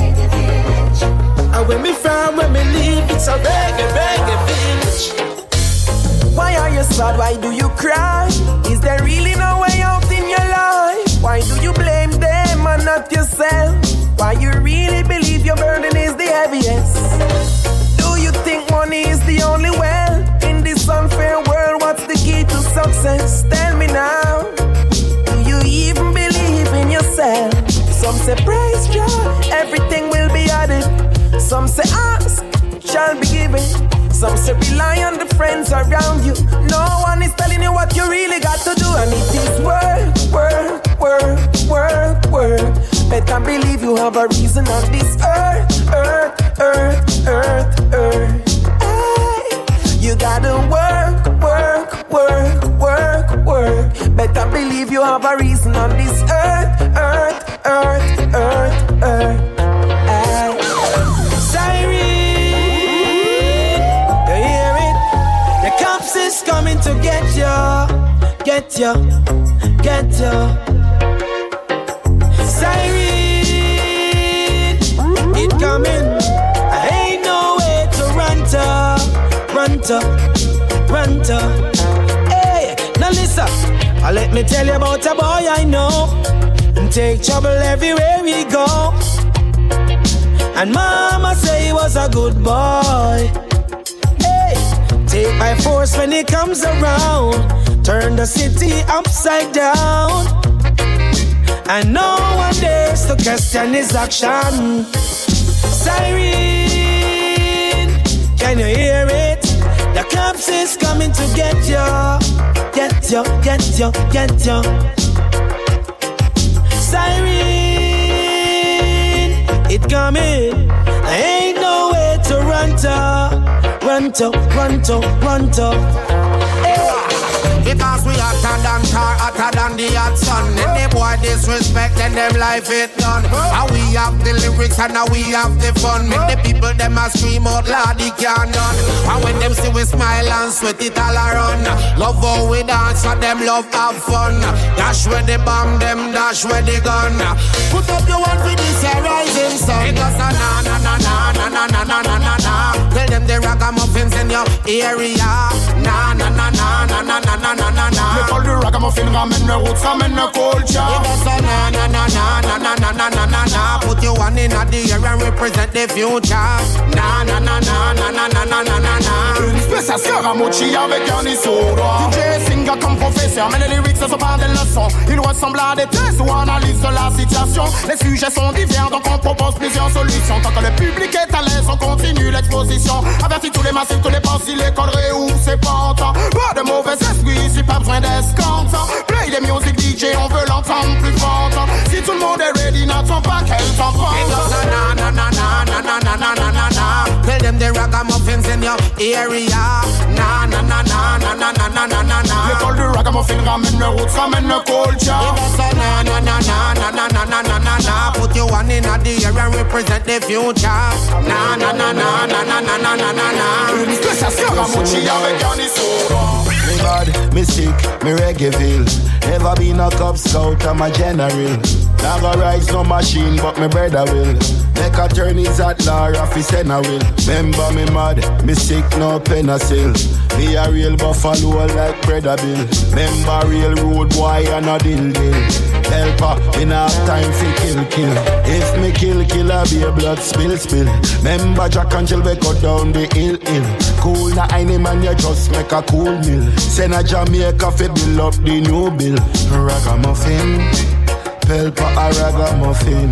S3: And when me from, when me live, it's a reggae village.
S11: Why are you sad? Why do you cry? Is there really no way out in your life? Why do you blame them and not yourself? Why you really believe your burden is the heaviest? Do you think money is the only well? In this unfair world, what's the key to success? Tell me now. Do you even believe in yourself? Some say praise God, everything will be added. Some say ask, shall be given. Some say rely on the friends around you. No one is telling you what you really got to do. And it is work. Better believe you have a reason on this earth. Hey, you gotta work. Better believe you have a reason on this earth.
S3: Is coming to get you. Siren, it coming. I ain't no way to run to. Hey, now listen. Let me tell you about a boy I know. And take trouble everywhere we go. And mama say he was a good boy. Take by force when he comes around. Turn the city upside down. And no one dares to question his action. Siren, can you hear it? The cops is coming to get you. Siren, it coming. I ain't no way to run to. Hey.
S20: Because we hotter than tar, hotter than the hot sun. Any boy disrespect, then them life it done. And we have the lyrics and now we have the fun. Make the people them a scream out loud, they can't done. And when them see we smile and sweat it all around. Love how we dance, and them love have fun. Dash where the bomb, them dash where the gun. Put up your one for this rising sun. Because na. Tell them the ragamuffins in your area. Na.
S18: Me call the ragamuffin, ramen me roots, ramen me culture.
S20: Na. Put your one in the air and represent the future. Na.
S18: Une espèce à Scaramucci avec un issoudre. DJ Singer comme professeur, mais les lyrics ne sont pas des leçons. Ils ressemblent à des tests ou analyses de la situation. Les sujets sont divers, donc on propose plusieurs
S15: sans solution. Tant que le public est à l'aise, on continue l'exposition. Avertis tous les massifs, tous les ports, si l'école réouvre ses portes. Pas de mauvais esprit, ici pas besoin d'escompte. Play des music DJ, on veut l'entendre plus fort. Si tout le monde est ready, n'attends pas qu'elle t'en prend.
S3: Na na na na na na na na na na na. Tell them the ragamuffins in your area. Na na na na na na na na na na na.
S15: L'école du ragamuffin ramène le roots, ramène le culture.
S3: Na na na na na na na na na na na. Put your one in the air and represent the future. Na na na na na na na na na na na.
S15: Une spéciale Scaramucci avec Yanisoro.
S21: Me bad, me sick, me reggaeville. Never been a Cub Scout, I'm a general. Never rise no machine, but me brother will. Make a turn is at law, office and I will. Remember me mad, me sick, no penicil. Be a real buffalo like Brother Bill. Remember real road boy and a dill. Helper, in half time fi kill. If me kill, I be a blood spill. Remember Jack and Jill, we go down the hill. Cool na any man, you just make a cool meal. Send a Jamaica fi build up the new bill. Ragamuffin, Pelpa a ragamuffin.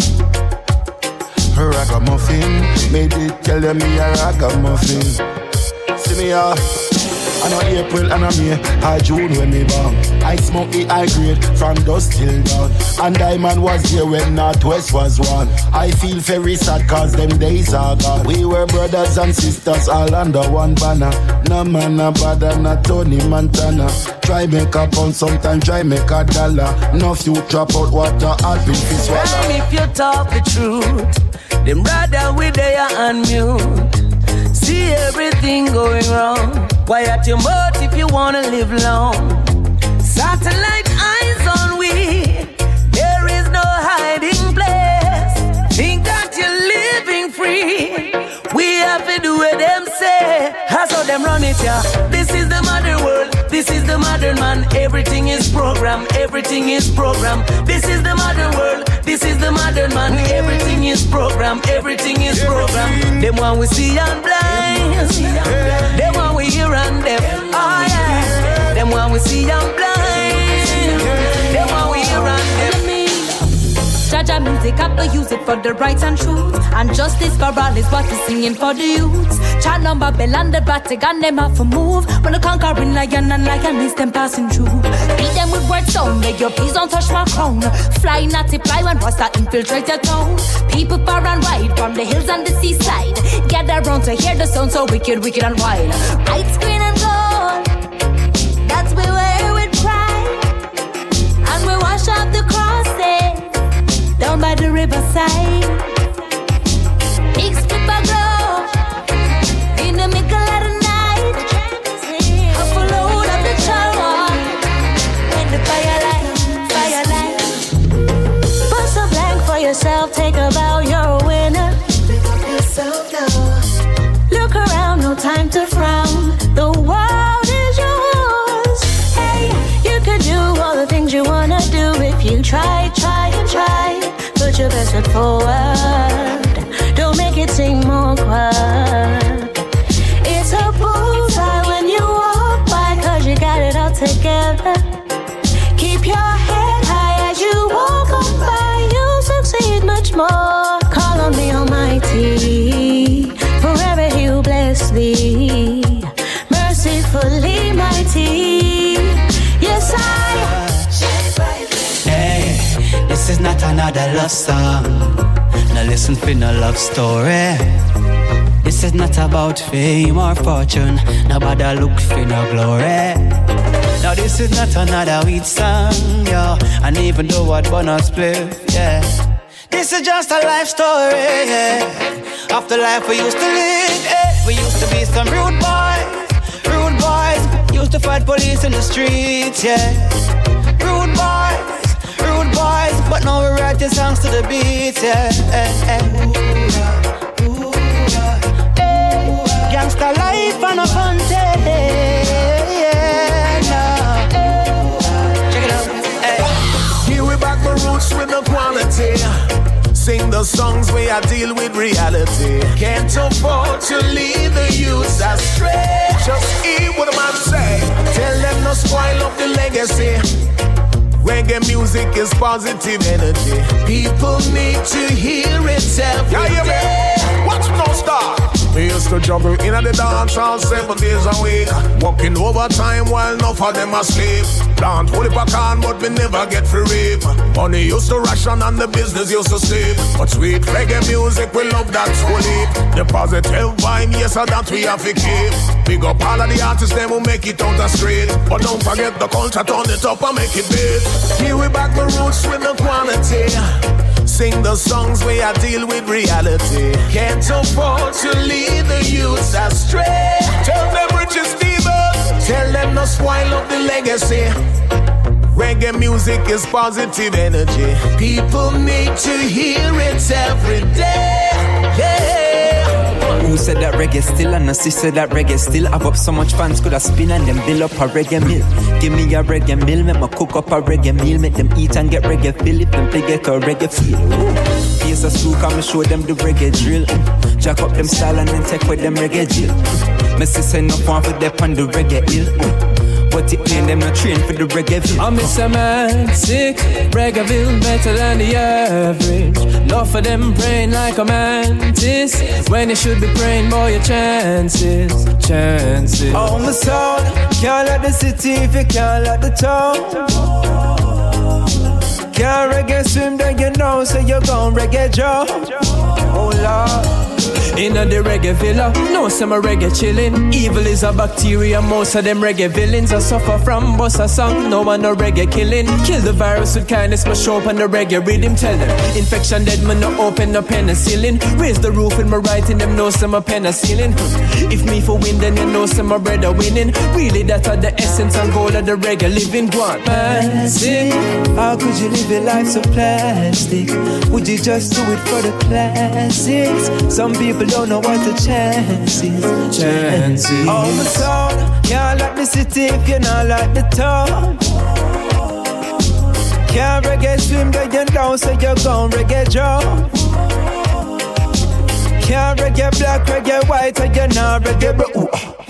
S21: Ragamuffin, made it tell them me a ragamuffin. See me I know April and I May, I June when me born. I smoke the high grade from dusk till dawn. And Diamond was there when Northwest was one. I feel very sad cause them days are gone. We were brothers and sisters all under one banner. No man no bother, no Tony Montana. Try make a pound, sometimes try make a dollar. No future out water, I'll be this water.
S8: Well, if you talk the truth, them rather we there and mute. See everything going wrong. Quiet your mouth if you wanna live long. Satellite eyes on we. There is no hiding place. Think that you're living free. We have to do what them say. I saw them run it, yeah. This is the modern world. This is the modern man. Everything is program. Everything is program. This is the modern world. This is the modern man. Everything is program. Everything is program. Them one we see and blind. Them one we hear and deaf. Oh yeah. Them one we see and blind. Them one we hear and deaf.
S1: Jaja music, have to use it for the rights and truth. And justice for all is what we're singing for the youths. Chant number bell and the Vatican, them have to move. When the conquering lion and lioness, them passing through. Beat them with words sound, make your please don't touch my crown. Fly, not to fly when Rasta infiltrate your town. People far and wide, from the hills and the seaside. Gather round to hear the sound so wicked, wicked and wild. Lights, green and gold, that's we wear with pride. And we wash off the crosses down by the riverside. Big split of glow in the middle of the night. A full load of the shower in the firelight. Bust a blank for yourself, take a bow, you're a winner. Pick up yourself now. Look around, no time to frown. The world is yours. Hey, you could do all the things you wanna do if you try, try and try. Put your best foot forward. Don't make it seem awkward. It's a bullseye when you walk by, cause you got it all together. Keep your head high as you walk on by. You'll succeed much more. Call on the Almighty. Forever He'll bless thee. Mercifully mighty. Yes,
S13: Hey, this is not another love song. Now listen for no love story. This is not about fame or fortune. Nobody look for no glory. Now this is not another weed song, yo. And even though what bonus play, yeah. This is just a life story, yeah. Of the life we used to live, yeah. We used to be some rude boys. Used to fight police in the streets, yeah. Rude boys, but now we write the songs to the beat, yeah. Gangsta life and a fun day, yeah, no. Check it out, hey.
S22: Here we back the roots with the quality. Sing the songs where I deal with reality. Can't afford to lead the youths astray. Just hear what a man say. Tell them no spoil up the legacy. Reggae music is positive energy. People need to hear it every day. Watch no stop. We used to juggle in the dance all 7 days a week. Working overtime while enough of them asleep. Plant holy pecan but we never get free reap. Money used to ration and the business used to sleep. But sweet reggae music, we love that fully. The positive vibe, yes, that we have to keep. Big up all of the artists, them who make it on the street. But don't forget the culture, turn it up and make it big. Here we back the roots with the quality. Sing the songs where I deal with reality. Can't afford to lead the youths astray. Tell them Richard Stevens, tell them no spoil up the legacy. Reggae music is positive energy. People need to hear it every day. Yeah.
S9: Who said that reggae still? And she said that reggae still. I've up so much fans could have spin and them build up a reggae meal. Give me a reggae meal, make me cook up a reggae meal. Make them eat and get reggae feel. If them play get a reggae feel. Face a screw, come and show them the reggae drill. Jack up them style and then take with them reggae drill. My sister no one for them on the reggae hill. But it ain't them not trained for the reggae.
S2: I miss a man sick, reggae better than the average. Love for them praying like a mantis. When you should be praying, boy, your chances.
S11: Oh, my soul, can't let the city if you can't let the town. Can't reggae swim, then you know, so you're gon' reggae Joe. Oh, Lord.
S2: Inna the reggae villa, no some a reggae chillin'. Evil is a bacteria, most of them reggae villains are suffer from boss a song, no one no reggae killing. Kill the virus with kindness, but show up on the reggae rhythm. Tell them, infection dead, man no open no penicillin. Raise the roof with my writing, them know some a penicillin. If me for win, then you know some a bread are winning. Really that are the essence and goal of the reggae living. One
S11: Plastic, how could you live your life so plastic? Would you just do it for the classics? Some people don't know what the chances. Oh, my soul, can't like the city if you're not like the town. Can't reggae swim, then you know, so you're gon' reggae Joe. Can't reggae black, reggae white, and you're not reggae bro.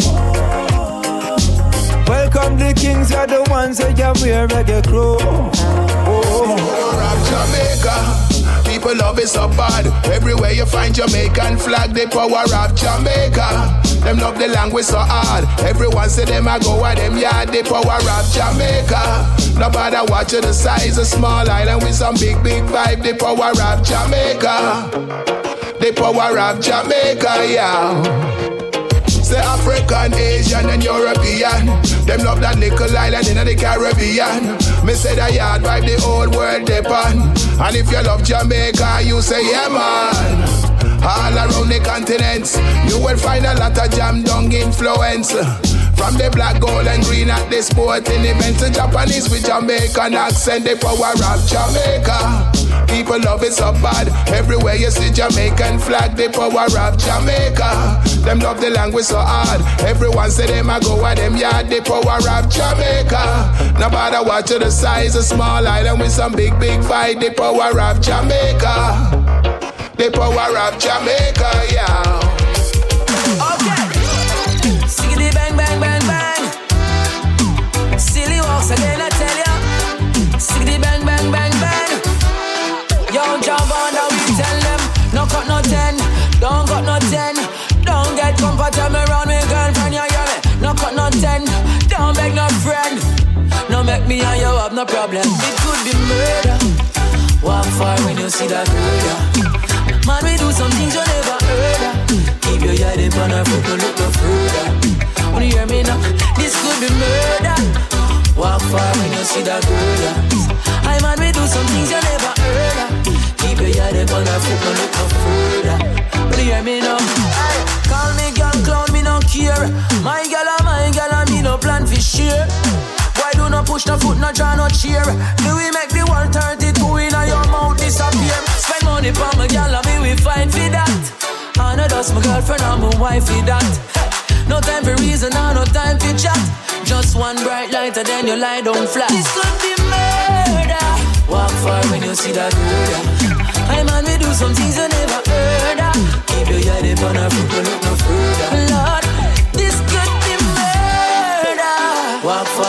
S11: Welcome the kings, are the ones that you wear reggae crew.
S22: Jamaica. People love it so bad. Everywhere you find Jamaican flag, the power of Jamaica. Them love the language so hard. Everyone say them a go at them yard, the power of Jamaica. Nobody watch the size of small island with some big vibe, the power of Jamaica. The power of Jamaica, yeah. Say African, Asian and European. Them love that little island in the Caribbean. Me say the yard vibe the whole world depend. And if you love Jamaica, you say yeah man. All around the continents, you will find a lot of jam dung influence. From the black, gold and green at the sporting events, the Japanese with Jamaican accent, the power of Jamaica. People love it so bad. Everywhere you see Jamaican flag, the power of Jamaica. Them love the language so hard. Everyone say them a go at them yard, the power of Jamaica. Nobody watch the size of small island with some big fight, the power of Jamaica. The power of Jamaica, yeah.
S6: Okay. Siggity bang bang bang bang. Silly walks again, I tell ya. Siggity bang bang bang bang. Young jump on now we tell them. No cut no 10, don't cut no 10. Don't get comfortable around me girlfriend, you hear me? No cut no 10, don't beg no friend. No make me and you have no problem. It could be murder. Walk far when you see that murder. Man, we do some things you never heard of. Keep your head up on our foot, no look no further. When you hear me now, this could be murder. Walk far when you see that murder. I man, we do some things you never heard of. Keep your head up on our foot, no look no further. When you hear me now, hey, call me girl, clown, me no care. My girl, and me no plan for share. Why do not push the foot, no draw no cheer? Do we make the 132 in your mouth disappear? Spend money for my girl and me we fight for that. I know that's my girlfriend and my wife for that. No time for reason, no time for chat. Just one bright light and then you lie down flat. This could be murder. Walk far when you see that murder. I man, we do some things you never heard of. Keep your head up on our foot, no look no further. Lord, this could be murder. Walk far when you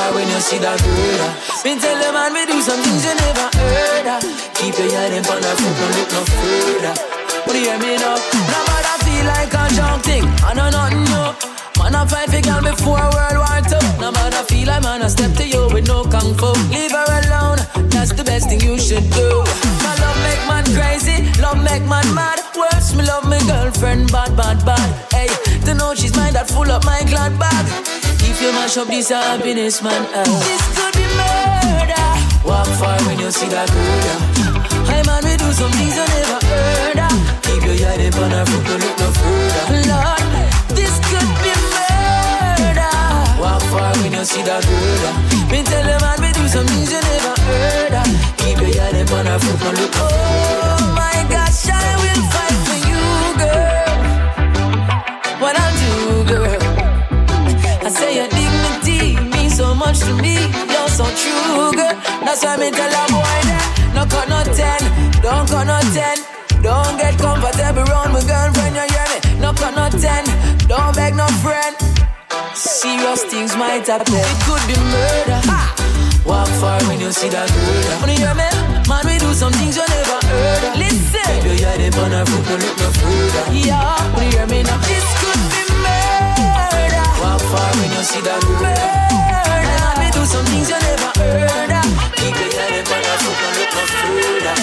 S6: see that girl. Me tell the man we do some things you never heard of. Keep your head in front of foot, don't look no further. What do you hear me now? No matter feel like a junk thing, I know nothing new. Man I fight for girl before World War II. No matter feel like man I step to you with no kung fu. Leave her alone, that's the best thing you should do. My love make man crazy, love make man mad. Worse, me love my girlfriend bad, bad, bad. Hey, to know she's mine that full up my glad bag. If you mash up this happiness, man, this could be murder. Walk far when you see that girl. Hey man, we do some things you never heard of. Keep your head up on her foot, don't look no further. Lord, this could be murder. Walk far when you see that girl. Me tell the man, we do some things you never heard of. Keep your head up on her foot, don't look no further. Oh my gosh, I will fight for you, girl. What I'll do, girl. I say your dignity means so much to me. You're so true, girl. That's why me tell a boy that no cut no 10, don't cut no 10. Don't get comfortable around my girlfriend, you hear me? No cut no 10, don't beg no friend. Serious things might happen. It could be murder. Walk far when you see that girl. When you hear me? Man, we do some things you never heard of. Listen. Keep your head up on her foot, don't look no further. Yeah, when you hear me now? This could be murder. Walk far when you see that girl. Murder. Man, we do some things you never heard of. Keep your head up on her foot, don't look no further.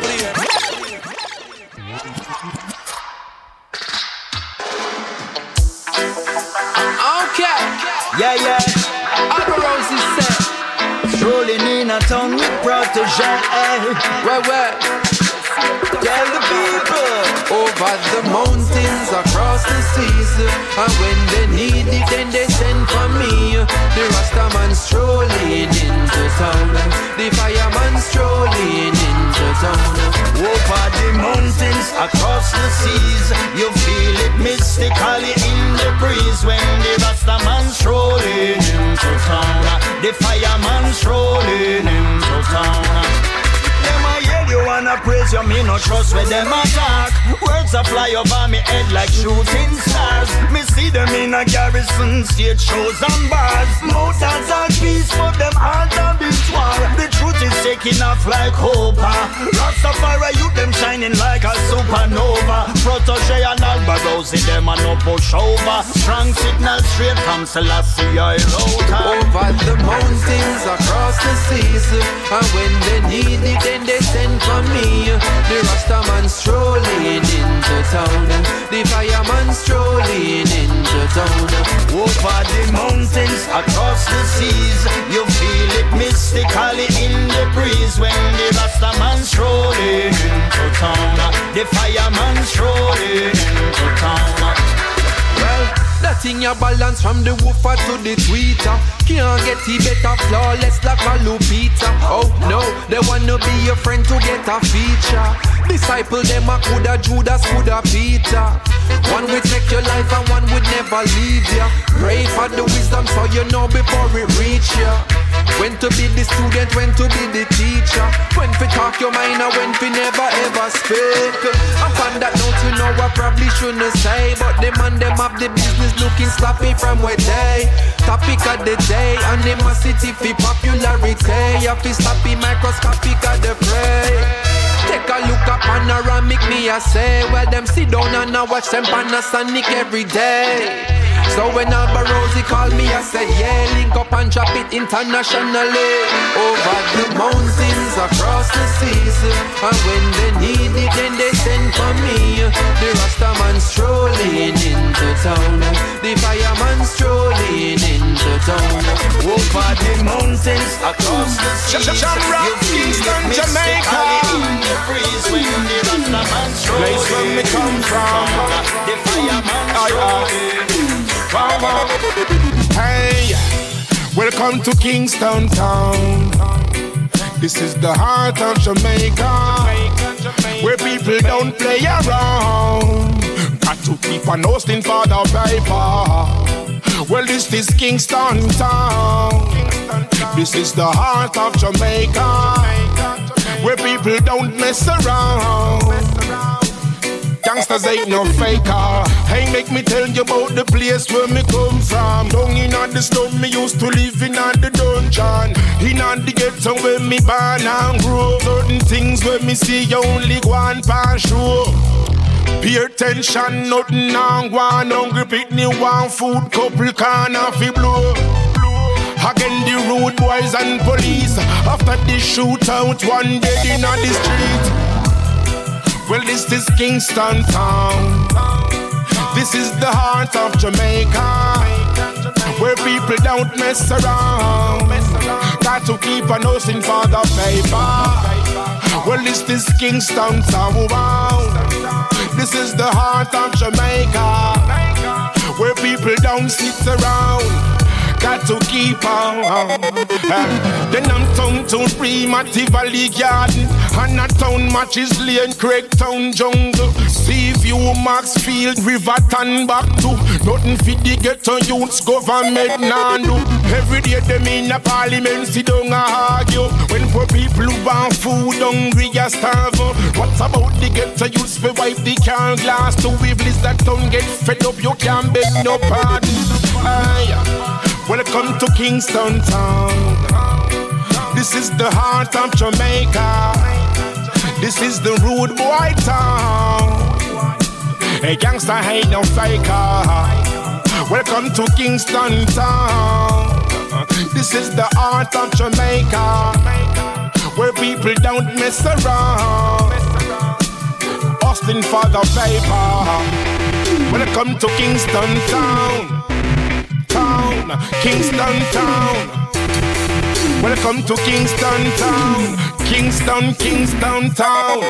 S11: Okay. Yeah.
S6: Upper Roses said.
S11: Strolling in a town with protege.
S2: Where?
S11: Tell the people.
S2: Over the mountains, across the seas. And when they need it, then they send for me. The Rastaman strolling into town. The fireman strolling into town.
S11: Over the mountains, across the seas. You feel it mystically in the breeze. When the Rastaman strolling into town. The fireman strolling into town. Them a yell you wanna praise you, me no trust when them attack. Words a fly over me head like shooting stars. Me see them in a garrison, stage shows and bars. Mouth and talk peace, but them hearts a bit war. The truth is taking off like hope. Rastafari youth them shining like a supernova. Protege and Alba Rosie them a no push over. Strong signal straight from Selassie I wrote.
S2: Over the mountains, across the seas. And when they need it, then they send for me. The Rastaman strolling into town. The fireman strolling into town.
S11: Over the mountains, across the seas. You feel it mystically in the breeze. When the Rastaman strolling into town. The fireman strolling into town.
S2: Well, that thing you balance from the woofer to the tweeter. Can't get it better flawless like a Lupita. Oh no, they wanna be your friend to get a feature. Disciple them a coulda Judas, coulda Peter. One will take your life and one would never leave ya. Pray for the wisdom so you know before it reach ya. When to be the student, when to be the teacher. When to talk your mind and when to never ever speak. And on that note you know I probably shouldn't say, but them and them have the business looking sloppy from where they. Topic of the day, animosity for popularity. You feel sloppy, microscopic of the prey. Take a look at panoramic, me I say. Well, them sit down and I watch them Panasonic every day. So when Alba Rosie called me, I said, yeah, link up and drop it internationally. Over the mountains, across the seas. And when they need it, then they send for me. The Rastaman strolling into town. The fireman strolling into town.
S11: Over the mountains, across the seas. You feel it mystically in the breeze. When the Rastaman strolling.
S20: Place where me come from.
S11: The fireman strolling.
S20: Hey, welcome to Kingston Town. This is the heart of Jamaica, where people don't play around. Got to keep on hosting for the paper. Well, this is Kingston Town. This is the heart of Jamaica, where people don't mess around.
S22: youngsters ain't no faker. Hey, make me tell you about the place where me come from. Down in the slum, me used to live in the dungeon. In the ghetto where me born and grow. Certain things where me see you only go and pass through. Pay attention, nothing on one. Hungry picnic, one food, couple can off it blow. Again the road boys and police. After the shootout, one dead in the street. Well, this is Kingston town. This is the heart of Jamaica, where people don't mess around. Got to keep a nosing for the paper. Well, this is Kingston town. This is the heart of Jamaica, where people don't sit around. Got to keep on. Then I'm town to Matty Valley Garden, and a town matches Lane, Craigtown Jungle. Sea View, Maxfield, Riverton back to. Nothing fit the ghetto youths government now do. Every day them in a parliament sit down and argue. When poor people who want food hungry and starve. What about the ghetto youths we wipe the car glass to weevils that don't get fed up? You can't beg no pardon. Welcome to Kingston town. This is the heart of Jamaica. This is the rude boy town. A gangster ain't no faker. Welcome to Kingston town. This is the heart of Jamaica, where people don't mess around. Austin for the paper. Welcome to Kingston town. Kingston town. Welcome to Kingston town. Kingston town.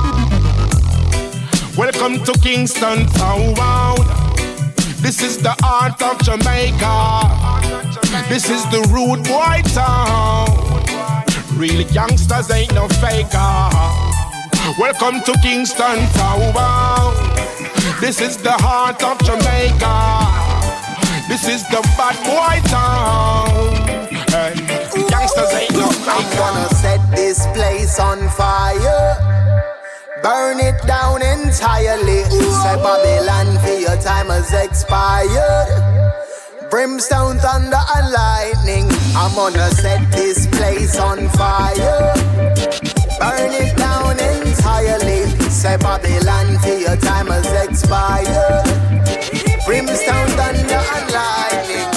S22: Welcome to Kingston town. This is the heart of Jamaica. This is the rude boy town. Real youngsters ain't no faker. Welcome to Kingston town. This is the heart of Jamaica. This is the bad boy town. Youngsters ain't no faker.
S4: I'm gonna set this place on fire, burn it down entirely. Say Babylon, for your time has expired. Brimstone, thunder and lightning. I'm gonna set this place on fire, burn it down entirely. Say Babylon, for your time has expired. Brimstone, thunder and lightning.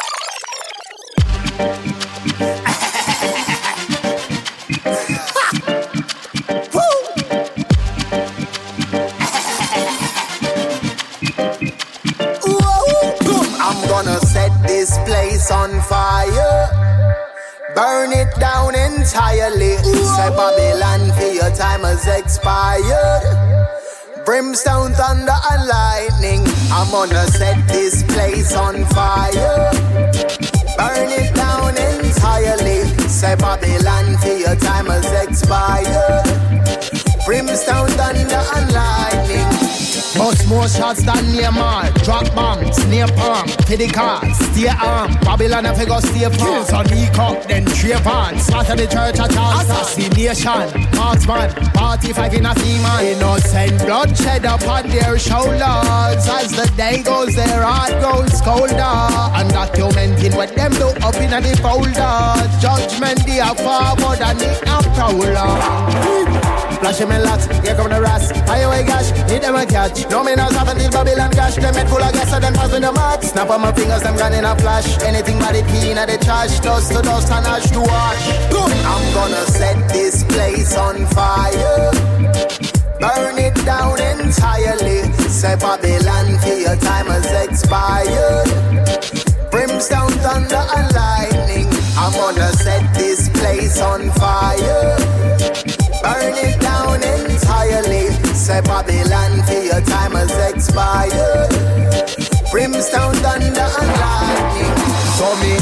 S4: I'm gonna set this place on fire, burn it down entirely. Say Babylon, for your time has expired. Brimstone, thunder and lightning. I'm gonna set this place on fire, burn it down entirely. Say Babylon, for your time has expired. Brimstone, thunder and lightning.
S3: Bust more shots than Neymar. Drop bombs, near palm, to the cars, stay armed. Babylon if you go stay farm. Kills on E-Cup, then trip on. Slaughter the church at all. Assassination, marksman, party 5 in a female. Innocent bloodshed upon their shoulders. As the day goes, their heart grows colder. And documenting what them do up in the folder. Judgment they are forward and they are prowler. Flash him in lots, here come the rats. High away gash, hit them a catch. No me knows happen till Babylon gash. Them head full of gas, so them pass with the mark. Snap on my fingers, them gone in a flash. Anything but it clean at the trash. Dust to dust and ash to wash.
S4: I'm gonna set this place on fire, burn it down entirely. Say Babylon, for your time has expired. Brimstone, thunder and lightning. I'm gonna set this place on fire, burn it down entirely. Say Babylon, for your time has expired. Brimstone, thunder and lightning.
S3: So me, bam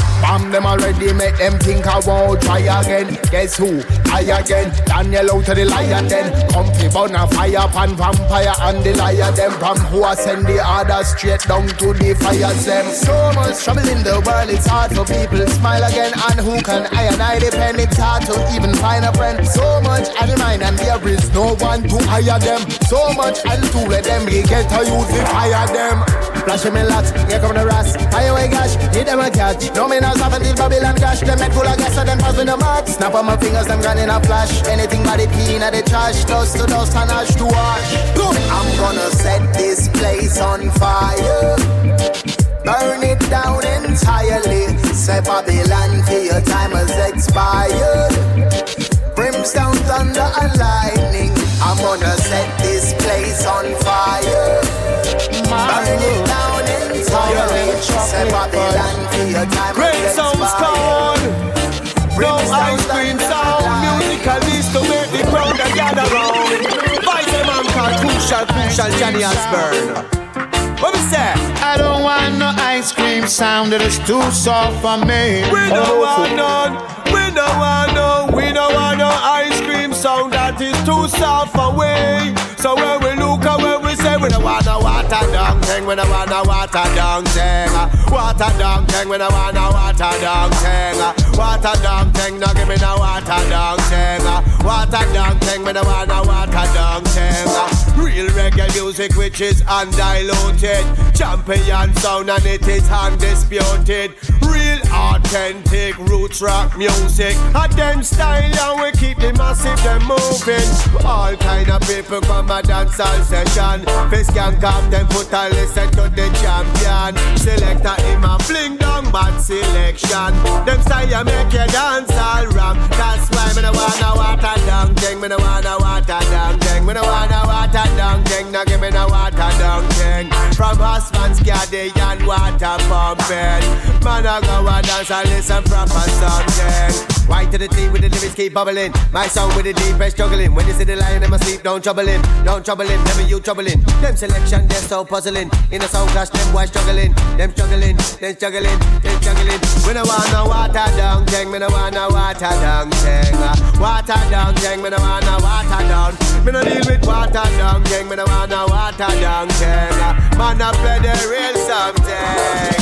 S3: them already make them think I won't try again. Guess who? I again. Daniel out to the lion then. Comfy burn a fire pan vampire and the liar them. From who I send the order straight down to the fire them. So much trouble in the world, it's hard for people to smile again. And who can I and I depend? It's hard to even find a friend. So much at the mind and there is no one to hire them. So much and to let them get to use to fire them. Flash me lots, here come the rats. Fire away gash, hit them a catch. No me now stop until Babylon cash. Them head full of gas and them pass with the mark. Snap on my fingers, them gone in a flash. Anything but it clean at the trash. Dust to dust and ash to ash.
S4: I'm gonna set this place on fire. Burn it down entirely. Say Babylon till your time has expired. Brimstone, thunder and lightning. I'm gonna set this place on fire. Burn it down entirely. Say Babylon till your time has expired.
S17: No ice cream sound. Musical needs to make the crowd gather round. Vice a man called Crucial Johnny Osbourne. What we say?
S5: I don't want no ice cream sound that is too soft for me.
S17: We don't want none. We don't want no ice cream sound that is too soft for we. So when we look at when we say we don't want no water down thing, we don't want no water down thing. Water down thing, we don't want no water down thing. Water down thing, no give me no water down thing. Water down thing, we don't want no water down thing. Real reggae music which is undiluted. Champion sound and it is undisputed. Real authentic roots rock music. A them style and we keep the massive them moving. All kind of people come a dancehall session. Face can come them put a listen to the champion. Selector him a fling down bad selection. Them style make you dance all ram. That's why me no want no water down thing. Me no want no water down thing. Me no want no water down thing. Now give me no water down thing. From husbands caddy and water pumping. Man I go and dance and listen proper something. White to the tea with the lyrics keep bubbling. My song with the deep breath struggling. When you see the lion in my sleep, don't trouble him. Don't trouble him, never you troubling. Them selection, they're so puzzling. In a sound clash, them boys struggling. Them struggling, them struggling, them struggling. We no want no water down thing. Me no want no water down thing. Water down thing, me no want no water down. Me no deal with water down thing. Me no want no water down thing. Man, I play the real something.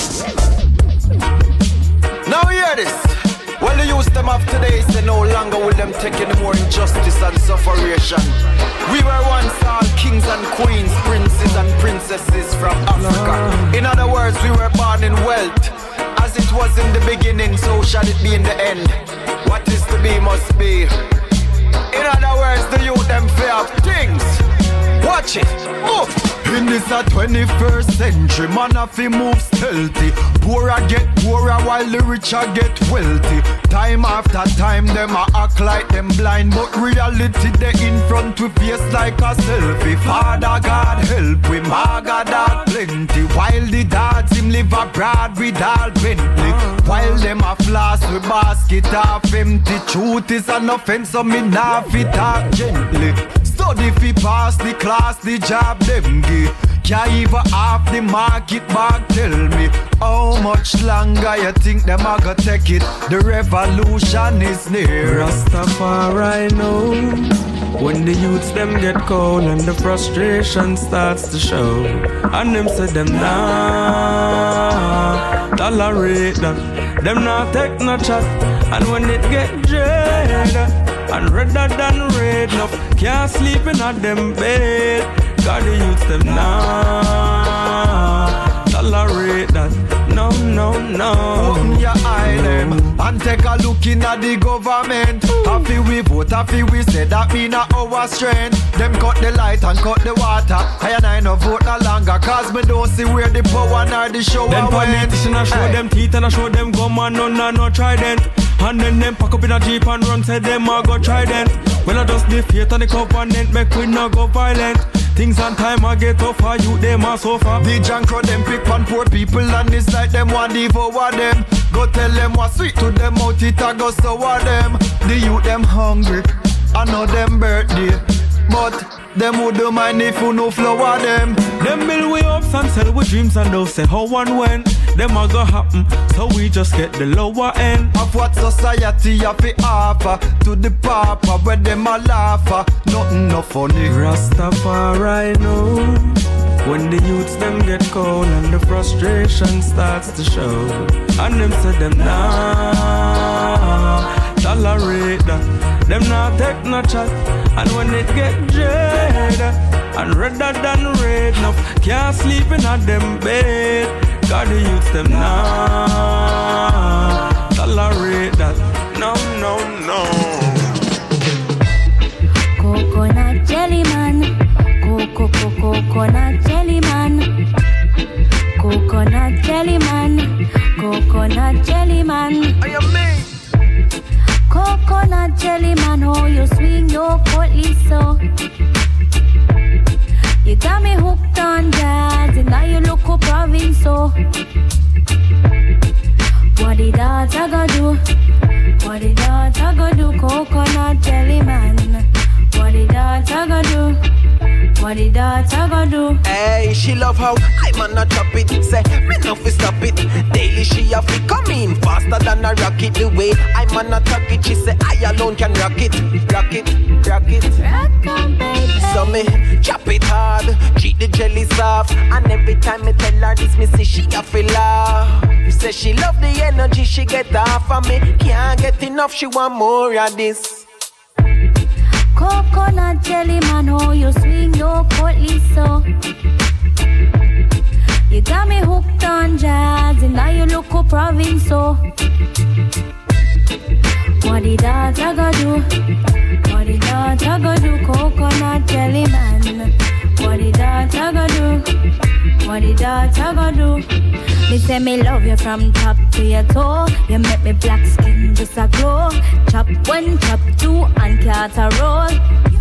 S7: Now hear this. Well, the youth them of today say no longer will them take any more injustice and sufferation. We were once all kings and queens, princes and princesses from Africa. In other words, we were born in wealth. As it was in the beginning, so shall it be in the end. What is to be must be. In other words, the youth them fear of things. Watch it. Move. In this 21st century, man have to move stealthy. Poorer get poorer while the richer get wealthy. Time after time, them a act like them blind, but reality they in front with face like a selfie. Father God help we, maga dog plenty. While the dads him live abroad with all Bentley. While them a floss with basket half empty. Truth is an offense, so me nah fit talk gently. Study fi pass the class, the job them give. Can't even half the market back. Tell me, how much longer you think them a go take it? The revolution is near.
S23: Rastafari know when the youths them get cold and the frustration starts to show. And them say them nah tolerate that. Them nah take no chat. And when it get dread and redder than red enough, can't sleep in a them bed. God the youths them nah tolerate that. No, no, no.
S7: Open your eye them and take a look in at the government. Happy we vote, happy we say that mean a our strength. Them cut the light and cut the water. I and I no vote no longer, cause me don't see where the power nor the show
S23: them
S7: went.
S23: Politicians a show them teeth and a show them gum and none no trident. And then them pack up in a jeep and run, say them a go trident. Well I just the faith and the covenant, make we no go violent. Things on time I get tougher, you them a suffer.
S7: The jankro them pick on poor people and it's like them want devour them. Go tell them what's sweet to them out, it a go sour them. The youth them hungry, I know them birthday, but them would do mind if you no flower them.
S23: Them build we ups and sell with dreams and they'll say how one when. them a go happen. So we just get the lower end
S7: of what society have to offer to the papa where them a laugh. Nothing no funny.
S23: Rastafari know when the youths them get cold and the frustration starts to show, and them say them nah tolerate that, them nah take no chat, and when it get dread and redder than red, enough can't sleep in a them bed. God the youths them nah tolerate that. No, no, no.
S1: Coconut jelly man, coconut jelly man, coconut jelly man, coconut jelly man.
S7: I am me.
S1: Coconut jelly man, how you swing your portly so. You got me hooked on jazz, and now you look up province so. What the dogs I gotta do? What the dogs I gotta do? Coconut jelly man. What the dogs I gotta do? What the dogs I gotta do?
S7: Hey, she love how I man a chop it. Say, me no fi stop it. Daily she a fi come in faster than a rocket. The way I man a tuck it, she say I alone can rock it. Rock it, rock it.
S1: Rock on, baby.
S7: So me chop it hard, treat the jelly soft. And every time me tell her this, me say she a fi laugh. Say she love the energy she get off of me. Can't get enough, she want more of this.
S1: Coconut jelly man, how you swing your portly so. You got me hooked on jazz, and now you look up province so. What the dogs I gotta do? What the dogs I gotta do? Coconut jelly man. What the dogs I gotta do? What the dogs I gotta do? Me say me love you from top to your toe. You make me black skin just a glow. Chop one, chop two, and cut a roll.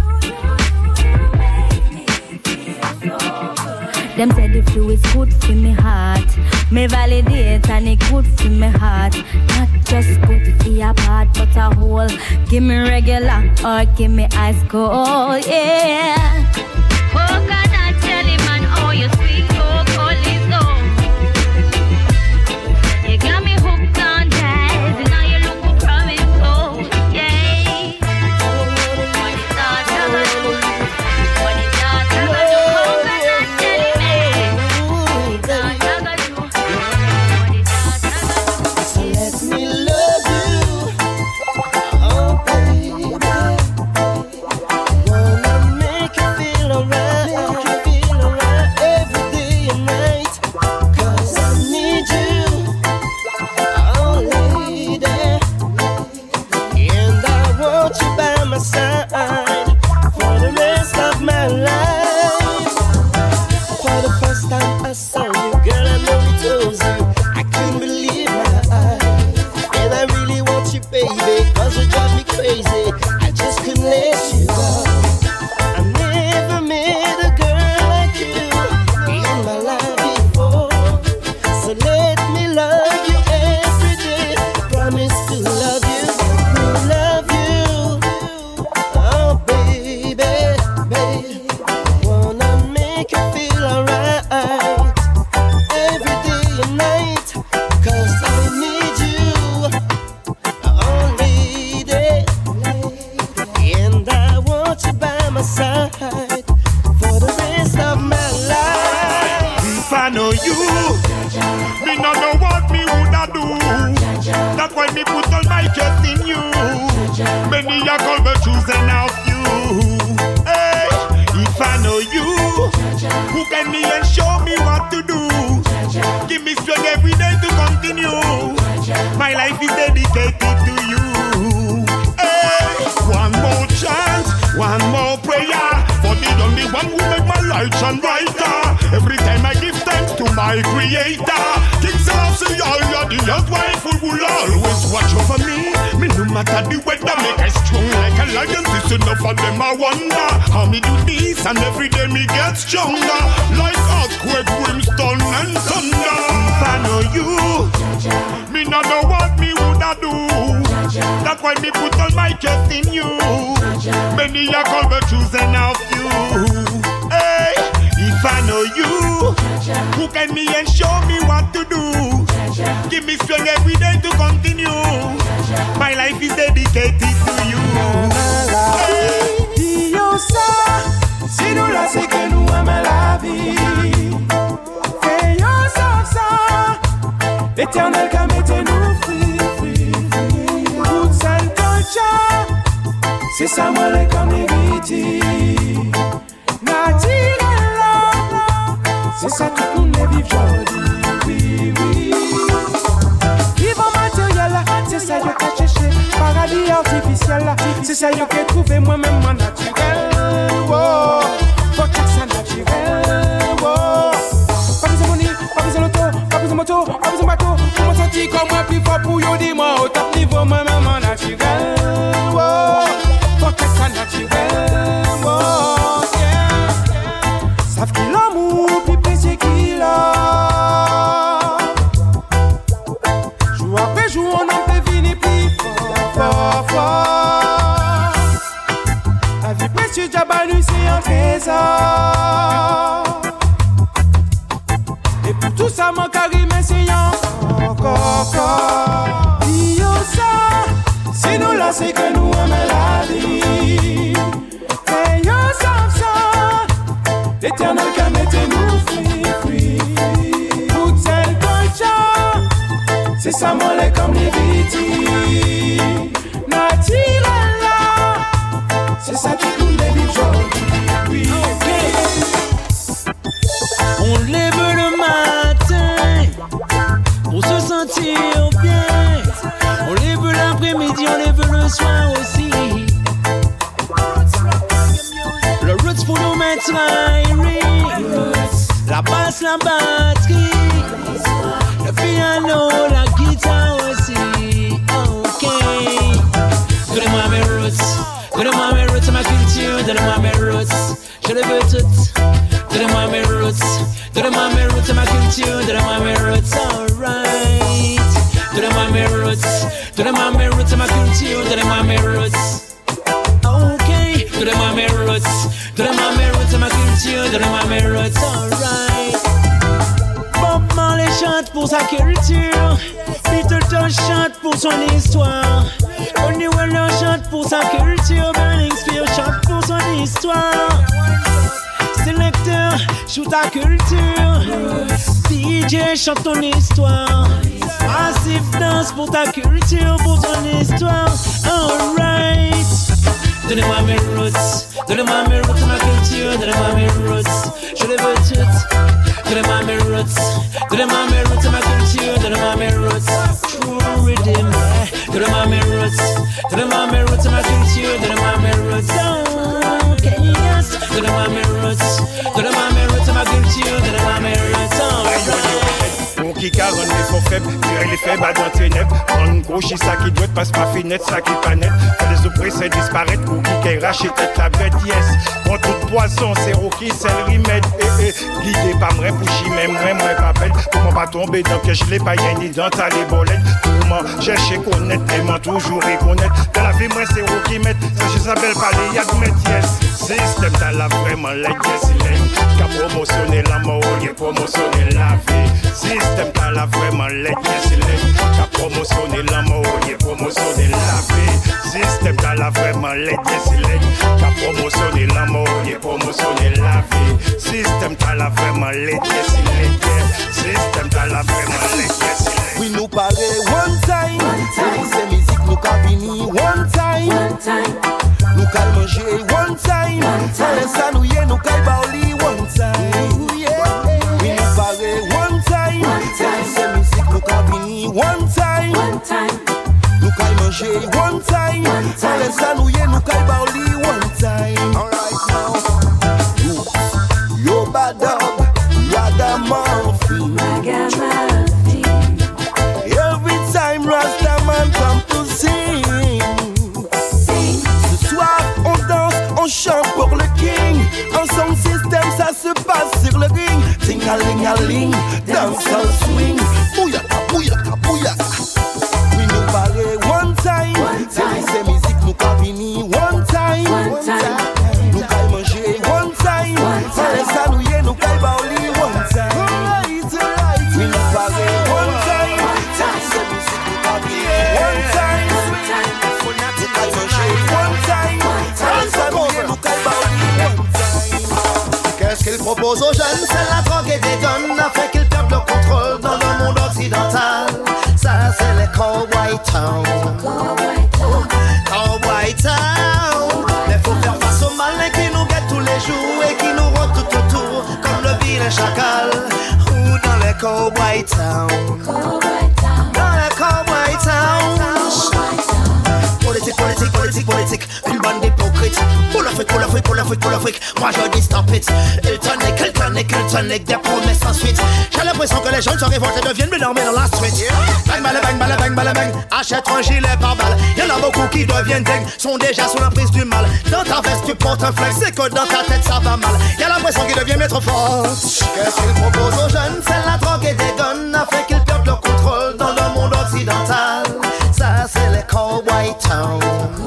S1: Them say the fluid's good for me heart. Me validate and it good for me heart. Not just good for your part, but a whole. Give me regular or give me ice cold, yeah. Coconut jelly man, oh you sweet cold is so. You got me hooked on jazz, and now you look for promise, oh yeah. What is that I gotta do? What is that I gotta do? Coconut jelly man. What is that I gotta do? What is that I gotta do?
S8: So let me love you, oh baby. Wanna make you feel alright, every day and night. 'Cause I need you, oh lady, and I want you by my side for the rest of my life. For the first time I saw you, girl, I know it was you. I couldn't believe my eyes, and I really want you, baby, 'cause you drive me crazy. I just couldn't let you go. I never met a girl like you in my life before. So let me love you every day. Promise to love you, oh baby, baby. Wanna make you feel alright every day and night. 'Cause I need you, oh lady, and I want you by my side for the rest of my life.
S20: If I know you, me no know what me woulda do. That's why me put all my trust in you. Many a call but choosing out you. Hey, if I know you, who can me and show me what to do? Give me strength every day to continue. My life is dedicated to you. Hey, one more chance, one more prayer for the only one who make my life shine brighter. Every time I give thanks to my creator, King Selassie, you're the earth wife who will always watch over me. Me no matter the weather, make I strong like a lion. This enough of them I wonder how me do this, and every day me get stronger like earthquake, brimstone and thunder. If I know you, me no know what me woulda do. That's why me put all my trust in you. Many a call but choosing of you. Hey, if I know you, who can me and show me what to do? me strong every day to continue. My life is dedicated to you.
S3: Dis ça, si nous là c'est que nous aimons la vie. Fais ça, l'éternel qui mettez-nous free. Toute seule culture, c'est ça moi les comme les viti. Naturel là, c'est ça tout le monde les vivre aujourd'hui. Oui. Vivre matériel là, c'est ça que t'as cherché. Paradis artificiel là, c'est ça que j'ai trouvé moi-même en naturel. Wow, faut que ça naturel. Wow, pas besoin de money, pas besoin d'auto, pas besoin de moto, pas besoin de bateau. Pour me sentir comme moi plus fort pour yo dis-moi au top niveau moi-même en naturel. Wow, faut que ça naturel. Wow, yeah. Savent qu'il l'amour plus précieux qu'il a. Jour après jour on en peut venir plus fort. La vie précieuse Jabanu c'est un trésor. Et pour tout ça mon carré c'est encore. Dis ça, si nous là c'est que nous aimons la vie. Et yo ça, l'éternel qui mettez-nous free. Toute celle culture, c'est ça moi les comme les viti. Naturel là, c'est ça qui nous les vit aujourd'hui.
S10: On lève le matin pour se sentir bien. On lève l'après-midi, on lève le soir aussi. Le roots pour nous mettre la basse, la batterie, le piano, la guitare aussi. Ok. Donnez-moi mes roots, ma culture, donnez-moi mes roots, je les veux toutes. Donnez-moi mes roots, ma culture, donnez-moi mes roots, alright. Donnez-moi mes roots, ma culture, donnez-moi mes roots. Ok, donnez-moi mes roots, ma culture, donnez-moi mes roots, alright. Bob Marley chante pour sa culture, Beatles chante pour son histoire, Bonnie Weller chante pour sa culture, Burning Spear chante pour son histoire. Sélecteur, shoot ta culture, DJ chante ton histoire, Massive danse pour ta culture, pour ton histoire, alright. Donnez-moi mes roots, ma culture, donnez-moi mes roots, je les veux toutes. Donnez-moi mes roots, ma culture, donnez-moi mes roots, true rhythm. Donnez-moi mes roots, ma culture, donnez-moi mes roots, okay, yes. Donnez-moi mes roots, ma culture, donnez-moi mes roots, alright.
S20: Pour qui carone les faux faibles, tirer les faibles à dans tes nèbres. Prendre une gauche, ça qui doit passe pas finette, ça qui pas net. Faire les oppressés disparaître, pour qui rachète la bête, yes. Pour toute poisson, c'est Rocky, c'est le remède. Guidé par moi, pouchi, même moi, pas bête. Pour moi pas tomber dans que je l'ai pas ni dans ta les bolettes. Pour moi, chercher connaître, aimant toujours reconnaître. Dans la vie, moi, c'est Rocky, met. Ça, je s'appelle pas les yad, met, yes. Système, t'as la vraiment, la yes, il est. Qu'a promotionné la mort, il a promotionné la vie. Système, t'as la vraiment, la yes, il est. Qu'a promotionné la mort, il a promotionné la vie. Système, t'as la vraiment, la yes, il est. Qu'a promotionné la mort, il a promotionné la vie. Système, t'as la vraiment, la yes, il est. Système, t'as la vraiment, la yes, il est.
S11: Oui, nous parler one time. C'est musique, nous cabini one time. Nous cal manger one time. Ça nous y nous cal baoli one time. Oui, nous parler one time. C'est musique, nous cabini one time. Nous cal manger one time. Ça nous y nous cal baoli one time. Alright now. Yo bad dog, ragamuffin. Every time Rastaman come to sing. Ce soir on danse, on chante pour le king. En son système ça se passe sur le ring. Ting-a-ling-a-ling, dance and swing. Bouyaka, bouyaka, bouyaka. Oui nous parler one time. C'est musique nous cabini one time. Nous caille manger one time. Ça nous y nous caille baoli one time. Oui nous parler one time.
S12: qu'il propose aux jeunes, c'est la drogue et des guns, a fait qu'ils perdent le contrôle dans le monde occidental. Ça c'est les Cowboy Town. Cowboy Town. Mais faut faire face aux malins qui nous guettent tous les jours et qui nous rôdent tout autour, comme le vilain chacal. Ou dans les Cowboy Town. Dans les Cowboy Town. Politique, une bande d'hypocrites. Pour l'Afrique, moi je dis stop it. Il tonic, des promesses sans suite. J'ai l'impression que les jeunes se révoltent et deviennent plus normés dans la street. Bang, bang, achète un gilet par balle. Y'en a beaucoup qui deviennent dingues, sont déjà sous l'emprise du mal. Dans ta veste tu portes un flingue, c'est que dans ta tête ça va mal. Y'a l'impression qu'il devient maître fort. Qu'est-ce qu'il propose aux jeunes? C'est la drogue et des guns, a fait qu'ils perdent le contrôle dans le monde occidental. Ça c'est les Cowboy Town.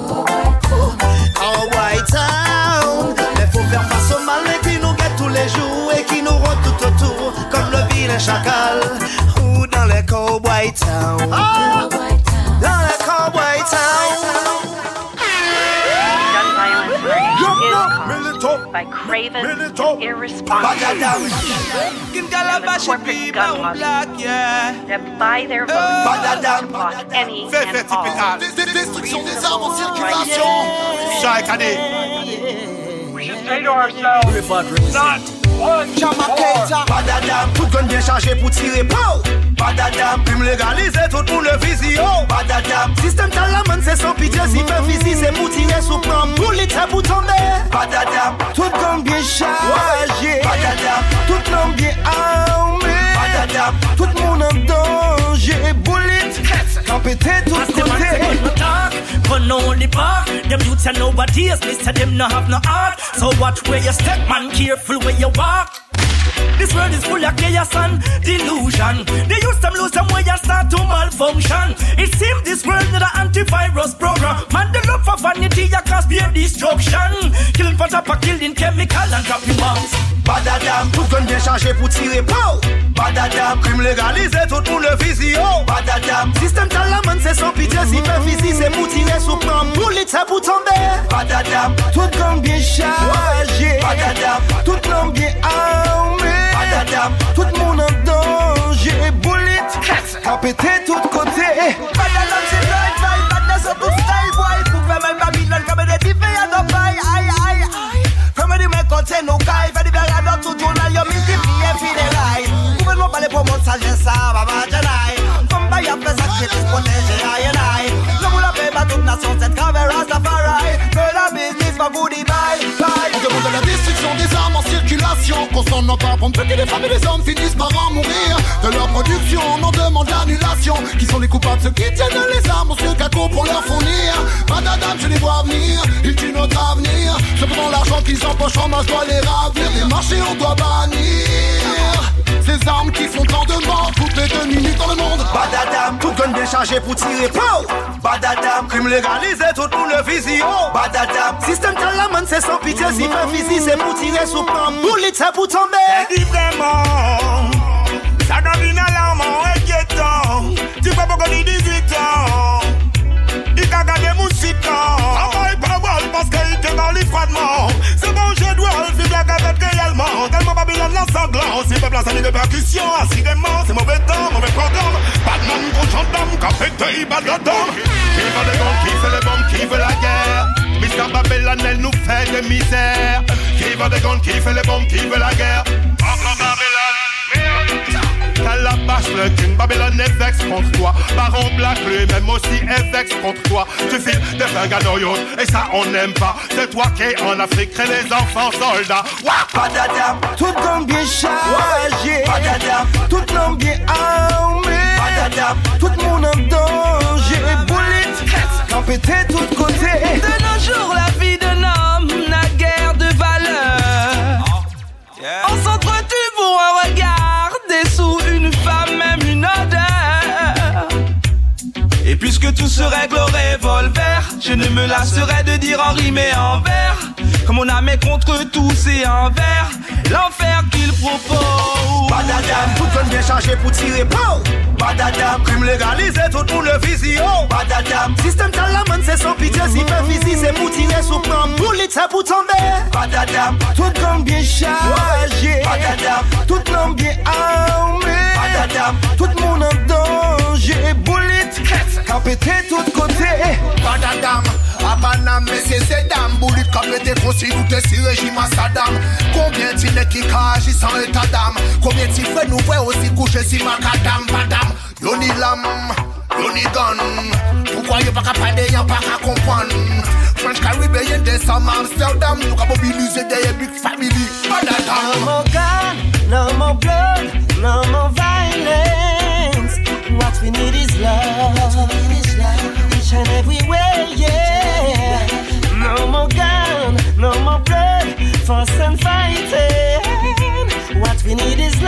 S12: Cowboy Town. Mais faut faire face aux malins qui nous guettent tous les jours et qui nous rôdent tout autour, comme le vilain chacal. Ou dans les Cowboy Town. Dans les Cowboy Town.
S14: By craven and irresponsible corporate gun that buy their votes across any and all.
S22: Destruction des armes en circulation chaque année.
S14: We should say to ourselves, not
S12: Badadam, tout gun bien chargé pour tirer. Badadam, crime légalisé, tout pour le visio. Badadam, système talaman, c'est sans pitié. Si fait physique, c'est pour tirer sous plan. Bullet, c'est pour tomber. Badadam, tout gun bien chargé. Badadam, tout l'homme bien armé. Badadam, tout le monde en danger. Bullet, quand pété tout côté.
S16: But no only park, them youths and nobody else. Mister them no have no heart. So watch where you step, man, careful where you walk. This world is full of chaos and delusion. They use them lose them way and start to malfunction. It seems this world need an antivirus program. Man, the love for vanity ya cause be a destruction. Killing for top of killing chemical and dropping bombs.
S12: Badadam, tout gun bien chargé pour tirer. Badadam, crime légalisé, tout pour le visio. Badadam, système talaman, c'est sans pitié. Si fait physique, c'est pour tirer sous plan. Bullet, c'est pour tomber. Badadam, tout gun bien chargé. Badadam, tout l'homme bien armé. Badadam, tout le monde en danger. Bullet, a pété tout côté.
S16: Badadam, c'est right, right, badness up to style, boy. Pour faire même Babylon, comme des diffés à nos pailles, aïe, aïe, aïe. Comme des mecs quand c'est nos cailles, fait des blagues dans tout journal, y'a multiplié, fidèle. Gouvernement parler pour mon sagesse, ça va pas gêner. Comme pas y'a fait ça, qui te protège, aïe, aïe. Le bout la paix, pas toute nation, cette caméra, ça faraille. Que la business, pas goodie, bye, bye.
S22: On demande la destruction des armes en circulation. Qu'on s'en empare pour que les femmes et les hommes finissent par en mourir. De leur production, on en demande l'annulation. Qui sont les coupables, ceux qui tiennent les armes, ou ceux qu'à pour leur fournir. Badadam, je les vois venir, ils tuent notre avenir. Cependant l'argent qu'ils empochent en masse doit les ravir. Les marchés, on doit bannir ces armes qui font tant de morts toutes les 2 minutes dans le monde.
S12: Badadam, tout gun bien chargé pour tirer. Badadam, crime légalisé, tout pour le visio. Badadam, système talaman, c'est sans pitié. Si fait physique, c'est pour tirer sous plan. Bullet, c'est pour tomber.
S16: Dis vraiment, ça devient alarmant, inquiétant. Tu peux pas gagner 18 ans. Il t'a gagné mon citant. Travaille pas mal parce qu'il te parle froidement. C'est bon, je dois le faire avec réellement. Tellement Babylone la sanglant. Si peuple a sali de percussion, assurément, c'est mauvais temps, mauvais programme. Batman contre gendarme, capété, badadam. Qui veut les guns, qui fait les bombes, qui veut la guerre. Mr. Babylone, elle nous fait de misère. Qui veut des guns, qui fait les bombes, qui veut la guerre. Encore Babylone, Calabash, le king, Babylone est vex contre toi. Baron Black, lui-même aussi est vex contre toi. Tu files des flingues à Noyon, et ça on n'aime pas. C'est toi qui es en Afrique, crée les enfants soldats.
S12: Badadam, tout l'homme bien chargé. Badadam, tout l'homme bien armé. Badadam, tout le monde en danger. Bullet, quand pété tout côté.
S16: De nos jours, la vie d'un homme n'a guère de valeur. On s'entretue pour un regard, des sous, une femme, même une odeur. Et puisque tout se règle au revolver, je ne me lasserai de dire en rime et en vers. Comme on a mais contre tous et envers, l'enfer qu'il propose.
S12: Badadam, tout gun bien chargé pour tirer. Badadam, crime légalisé, tout pour le visio. Badadam, système talaman, c'est sans pitié. Si fait physique, c'est pour tirer sous plan. Bullet, c'est pour tomber. Badadam, tout gun bien chargé.
S3: bien armé. Tout le monde en danger. Bullet, qu'a pété tout côté.
S22: Badadam, Abanam, mais c'est Sedam. Bullet qu'a pété aussi tout est si régime à Saddam. Combien de qui agissent sans état d'âme? Combien de frères nous voient aussi coucher si macadam, badam? Yoni lam, yoni gun. Pourquoi y'a pas qu'à parler, y'a pas qu'à comprendre? French Caribbean, there's some Amsterdam. You can mobiliser their big family. Badadam.
S3: No more gun, no more blood, no more violence. What we need is love. Each and every way, yeah. No more gun, no more blood, fuss and fighting. What we need is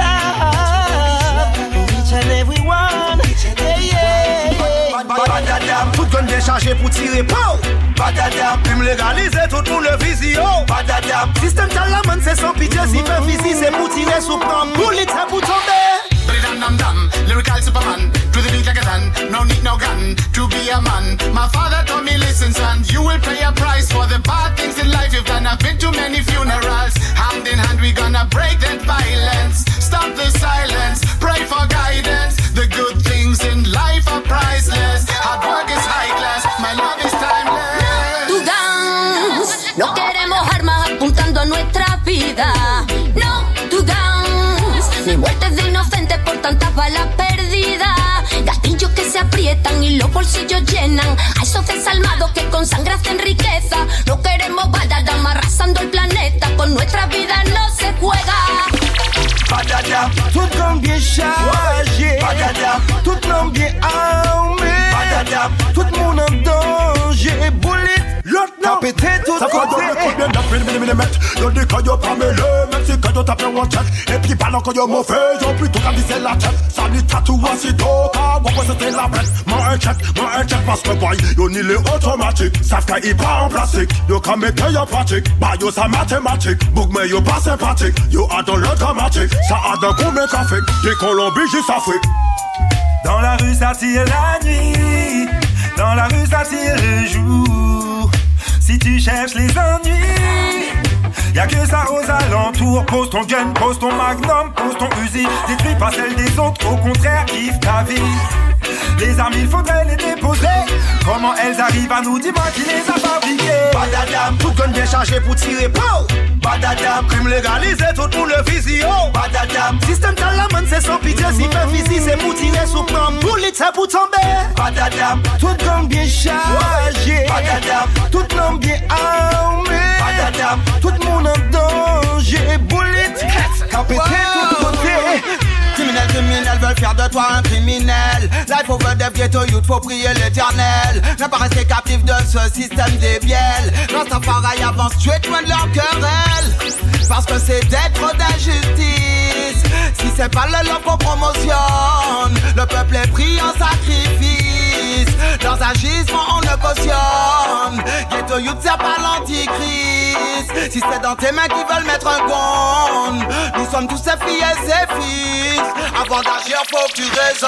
S3: love. Each and every one, yeah.
S12: Badadam, tout gun bien chargé pour tirer, pow. Badadam, puis me légaliser tout pour le visio. Badadam, système talaman c'est sans pitié, si fait physique c'est pour tirer sous plan. Bullet c'est pour tomber.
S22: Dum, lyrical Superman, to the beat like a gun. No need no gun to be a man. My father told me, listen son, you will pay a price for the bad things in life you've done. I've been to many funerals. Hand in hand we gonna break that violence. Stop the silence, pray for guidance. The good things in life are priceless. Hard work is high class, my love is timeless.
S1: To guns, no queremos armas apuntando a nuestra vida. No to guns, ni muertes de inocentes por tantas balas perdidas. Gatillos que se aprietan y los bolsillos llenan. A esos desalmados que con sangre hacen riqueza. No queremos badadam arrasando el planeta. Con nuestra vida no se juega.
S3: Badadam, tout comme bien chargé. Badadam, tout l'homme bien armé. Badadam, tout le monde en danger. Bullet, t'as pété tout côté.
S20: Combien d'appels millimètres? Y'a des caillots pas mêlés. Même si caillots t'as fait one check. Et puis pendant que y'a mauvais, y'a plutôt qu'à viser la tête. Ça dit tatou aussitôt. Car moi c'était la bête. Moi un check parce que boy, y'a ni les automatiques. Savent qu'il est pas en plastique. Y'a qu'à mettre y'a pratique. Bah y'a sa mathématique. Boug mais y'a pas sympathique. Y'a a dans le dramatique. Ça a d'un coup métaphique. Des Colombies jusqu'à Afrique.
S15: Dans la rue ça tire la nuit. Dans la rue ça tire le jour. Si tu cherches les ennuis, y'a que ça aux alentours. Pose ton gun, pose ton magnum, pose ton Uzi. Détruis pas celle des autres, au contraire kiffe ta vie. Les armes il faudrait les déposer. Comment elles arrivent à nous, dis-moi qui les a fabriquées.
S12: Badadam, tout gun bien chargé pour tirer, pow. Badadam, crime légalisé tout pour le visio. Badadam, système talaman c'est sans pitié. Si fait physique c'est pour tirer sous plan. Bullet c'est pour tomber. Badadam,
S3: tout gun bien chargé.
S12: Badadam,
S3: tout l'homme bien armé.
S12: Badadam,
S3: tout le monde en danger. Bullet, qu'a pété tout côté.
S12: Criminels veulent faire de toi un criminel. Life over the ghetto youth, faut prier l'éternel. Ne pas rester captif de ce système débiel. Rastafari avance, tu es loin de leur querelle. Parce que c'est d'être d'injustice. Si c'est pas le love qu'on promotionne, le peuple est pris en sacrifice. Dans un gisement on le cautionne. Ghetto youth c'est pas l'antichrist. Si c'est dans tes mains qui veulent mettre un gun, nous sommes tous ses filles et ses fils. Avant d'agir, faut que tu raisonnes.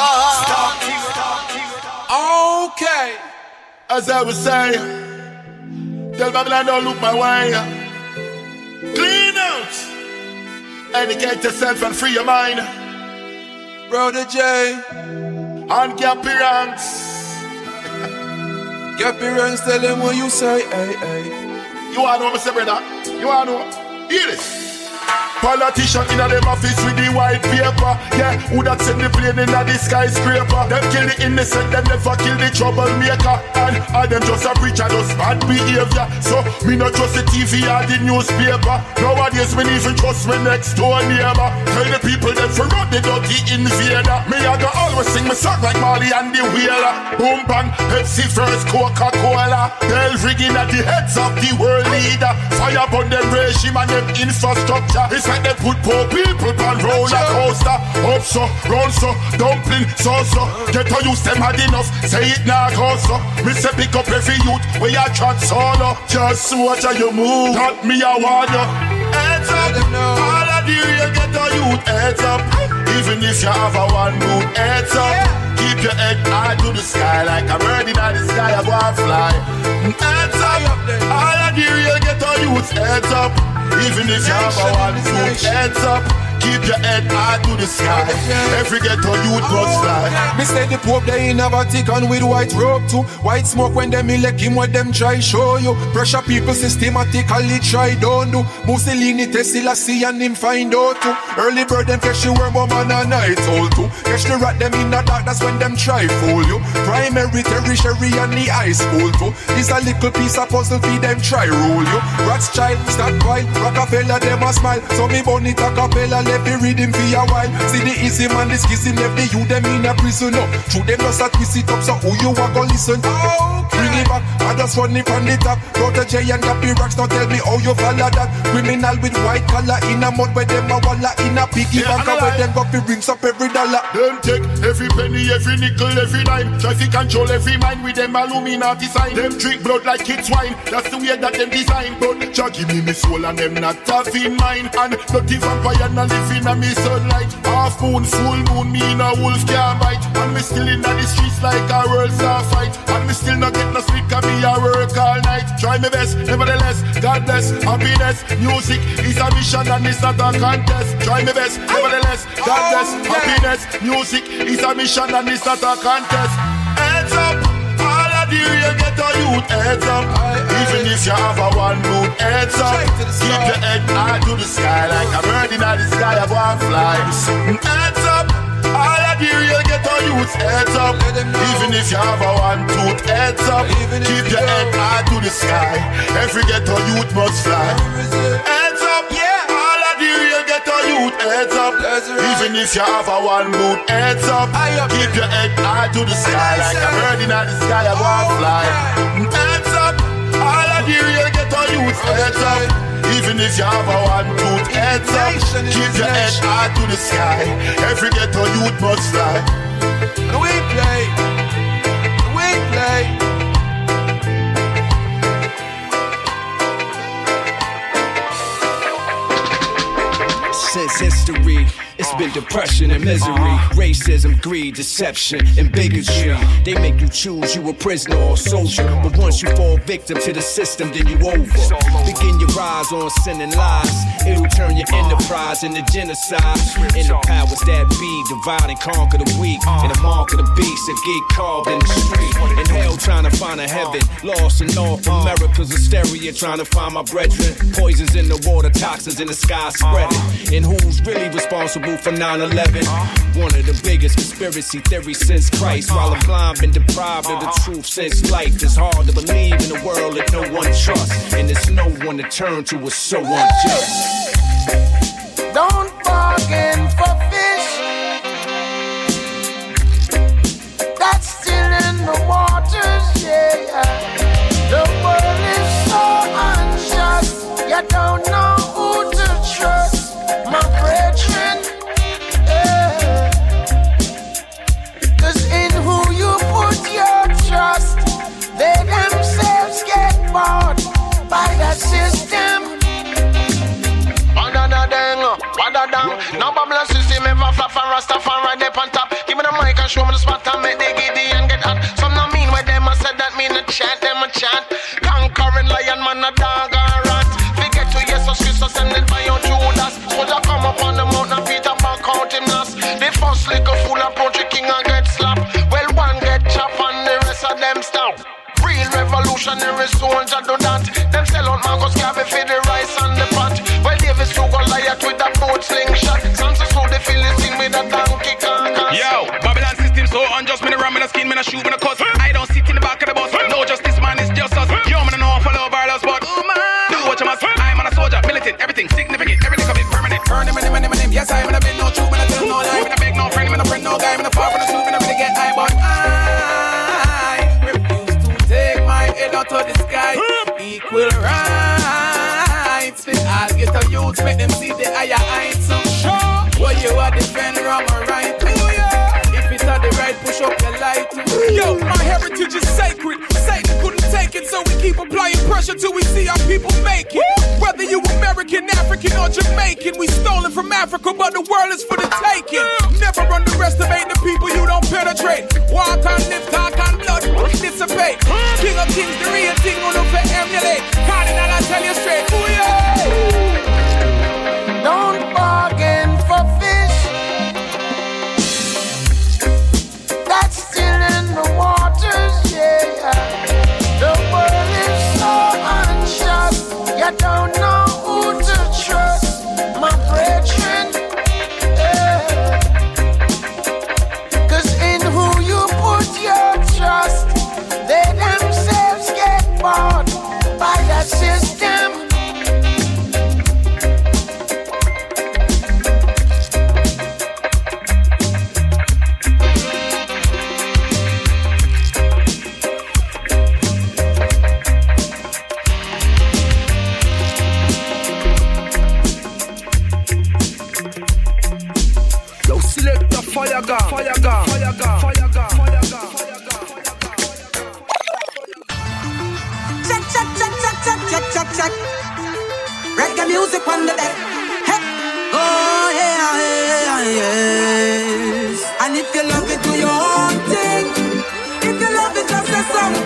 S22: Okay. As I was saying, tell Babylon don't look my way. Clean out. Educate yourself and free your mind.
S17: Brother J.
S22: And Gappy Ranks.
S17: Gappy Ranks, tell them what you say, hey, hey.
S22: You wanna know, Mr. Brother? You wanna know? Hear this. Politician in a them office with the white paper. Yeah, who that send the plane in a the skyscraper? Them kill the innocent, them never kill the troublemaker. And them just a preacher, just bad behavior. So me not trust the TV or the newspaper. Nowadays me even trust my next door neighbor. Tell the people them for run the dirty invader. Me I go always sing my song like Marley and the Wheeler. Boom bang, Pepsi first, Coca-Cola. They'll rigging at the heads of the world leader. Fire upon them regime and them infrastructure. It's like they put poor people on roller coaster. Up so, round so, dumpling so. Get to use them hard enough, say it now go so. Me say pick up every youth where you chat solo. Just watch how you move, not me I want you. Heads up, all of the real get to youth. Heads up, even if you have a one good. Heads up, keep your head high to the sky. Like a bird in the sky, I go and fly. Heads up, all of the real get to youth. Heads up, even if you have a one foot. Heads up, keep your head high to the sky. Every ghetto youth must fly.
S15: Me say the Pope they in a Vatican with white robe too. White smoke when them elect him, what them try show you. Pressure people systematically try don't do. Mussolini Tesla see and him find out too. Early bird them catch the worm woman and night old too. Catch the rat them in the dark, that's when them try fool you. Primary, tertiary and the high school too. This a little piece of puzzle for them try rule you. Rothschild, Stadtwile, Rockefeller them a smile. So me bunny a cappella left the rhythm for a while. See the easy man, the skizzy left the you them in a prison no. Through them just a twist it up so who you a go listen. Bring it back, I just run it from the top. Protege and Gappy Rocks, now tell me how you follow that. Criminal with white collar in a mud where them a walla in a piggy bank where them go fi rings up every dollar.
S22: Them take every penny, every nickel, every dime. Try fi control every mind with them Illuminati sign. Them drink blood like it's wine, that's the way that them design. But Jah give me soul and them not tough in mind. And dirty vampire not living on me sunlight. Half moon, full moon, me in a wolf can't bite. And me still in the streets like a world star fight. And me still not get no sleep, cause me a work all night. Try my best, nevertheless, God bless, happiness. Music is a mission and it's not a contest. Try my best, nevertheless, God bless, happiness. Music is a mission and it's not a contest. Heads up, all of the real ghetto youth, heads up. Even if you have a one mood, heads up. Keep your head high to the sky like a bird in the sky, I want fly. Heads up, all of the real ghetto youth, heads up. Even if you have a one tooth, heads up. Keep your head high to the sky. Every ghetto youth must fly. Heads up, yeah. All of the real ghetto youth, heads up. Even if you have a one mood, heads up. Keep your head high to the sky like a bird in the sky, I want fly. Heads up, all of the real ghetto youth, heads up. Even if you have a one tooth, heads up. Keep your head high to the sky. Every ghetto youth must fly.
S15: And we play.
S18: Since history, it's been depression and misery, racism, greed, deception, and bigotry. They make you choose you a prisoner or soldier, but once you fall victim to the system, then you over. Begin your rise on sin and lies. It'll turn your enterprise into genocide. And the powers that be divide and conquer the weak, and the mark of the beast that get carved in the street. In hell trying to find a heaven, lost in North America's hysteria, trying to find my brethren. Poisons in the water, toxins in the sky spreading. And who's really responsible for 9/11? One of the biggest conspiracy theories since Christ. While I'm blind, been deprived of the truth since life. It's hard to believe in a world that no one trusts, and there's no one to turn to. It's so unjust.
S22: Don't bargain for fish that's still in the waters, yeah. The world is so unjust. You don't know who to trust, my brethren. Yeah. 'Cause in who you put your trust, they themselves get bought by the system.
S19: No Babylon system ever flap and Rastafari up on top. Give me the mic and show me the spot and make the giddy and get hot. Some no mean where them a said that mean a chant, them a chant. Conquering lion man a dog and rat. Forget to Jesus Christ send it by your Judas. Soldier come up on the mountain and Peter Pan count him last. The first little fool approach the king and get slapped. Well one get chopped and the rest of them stop. Real revolutionary soldier do that. Them sell out Marcus Garvey for the rice and the pot. Well Davis to Goliath with a boat slingshot. Samson so the Philistine with a donkey carcass.
S21: Yo, Babylon system so unjust. Me no ram, me no skin, me no shoot, me no cuss. I don't sit in the back of the bus. No justice man, it's just us. Yo, me no know if I love our loves, but do what you must. I'm on a soldier, militant, everything significant, everything of it permanent. Burn him, yes, I'm in a bed, no truth, me no tell no lie. Me no beg no friend, me no friend, no guy, me no far from the truth, me no really get high, but I refuse to take my head out of the sky. Equal rights, fit all get a youth, make them see the higher heights. Well, you are defend wrong or right. If it's not the right, push up your light.
S24: Yo, my heritage is sacred. Satan couldn't take it, so we keep applying pressure till we see our people make it. Whether you American, African, or Jamaican, we stolen from Africa, but the world is for the taking. Never underestimate the people you don't penetrate. Walk on, live, talk on, blood, dissipate. King of kings, the real thing, on over emulate. Cardinal, I tell you straight. Ooh, yeah.
S22: Don't bargain for
S24: fire gun, fire gun, fire gun, fire gun, fire gun.
S8: Check, check, check, check, check, check, check, check. Reggae music on the deck. Hey. Oh yeah, yeah, yes. And if you love it, do your own thing. If you love it, just say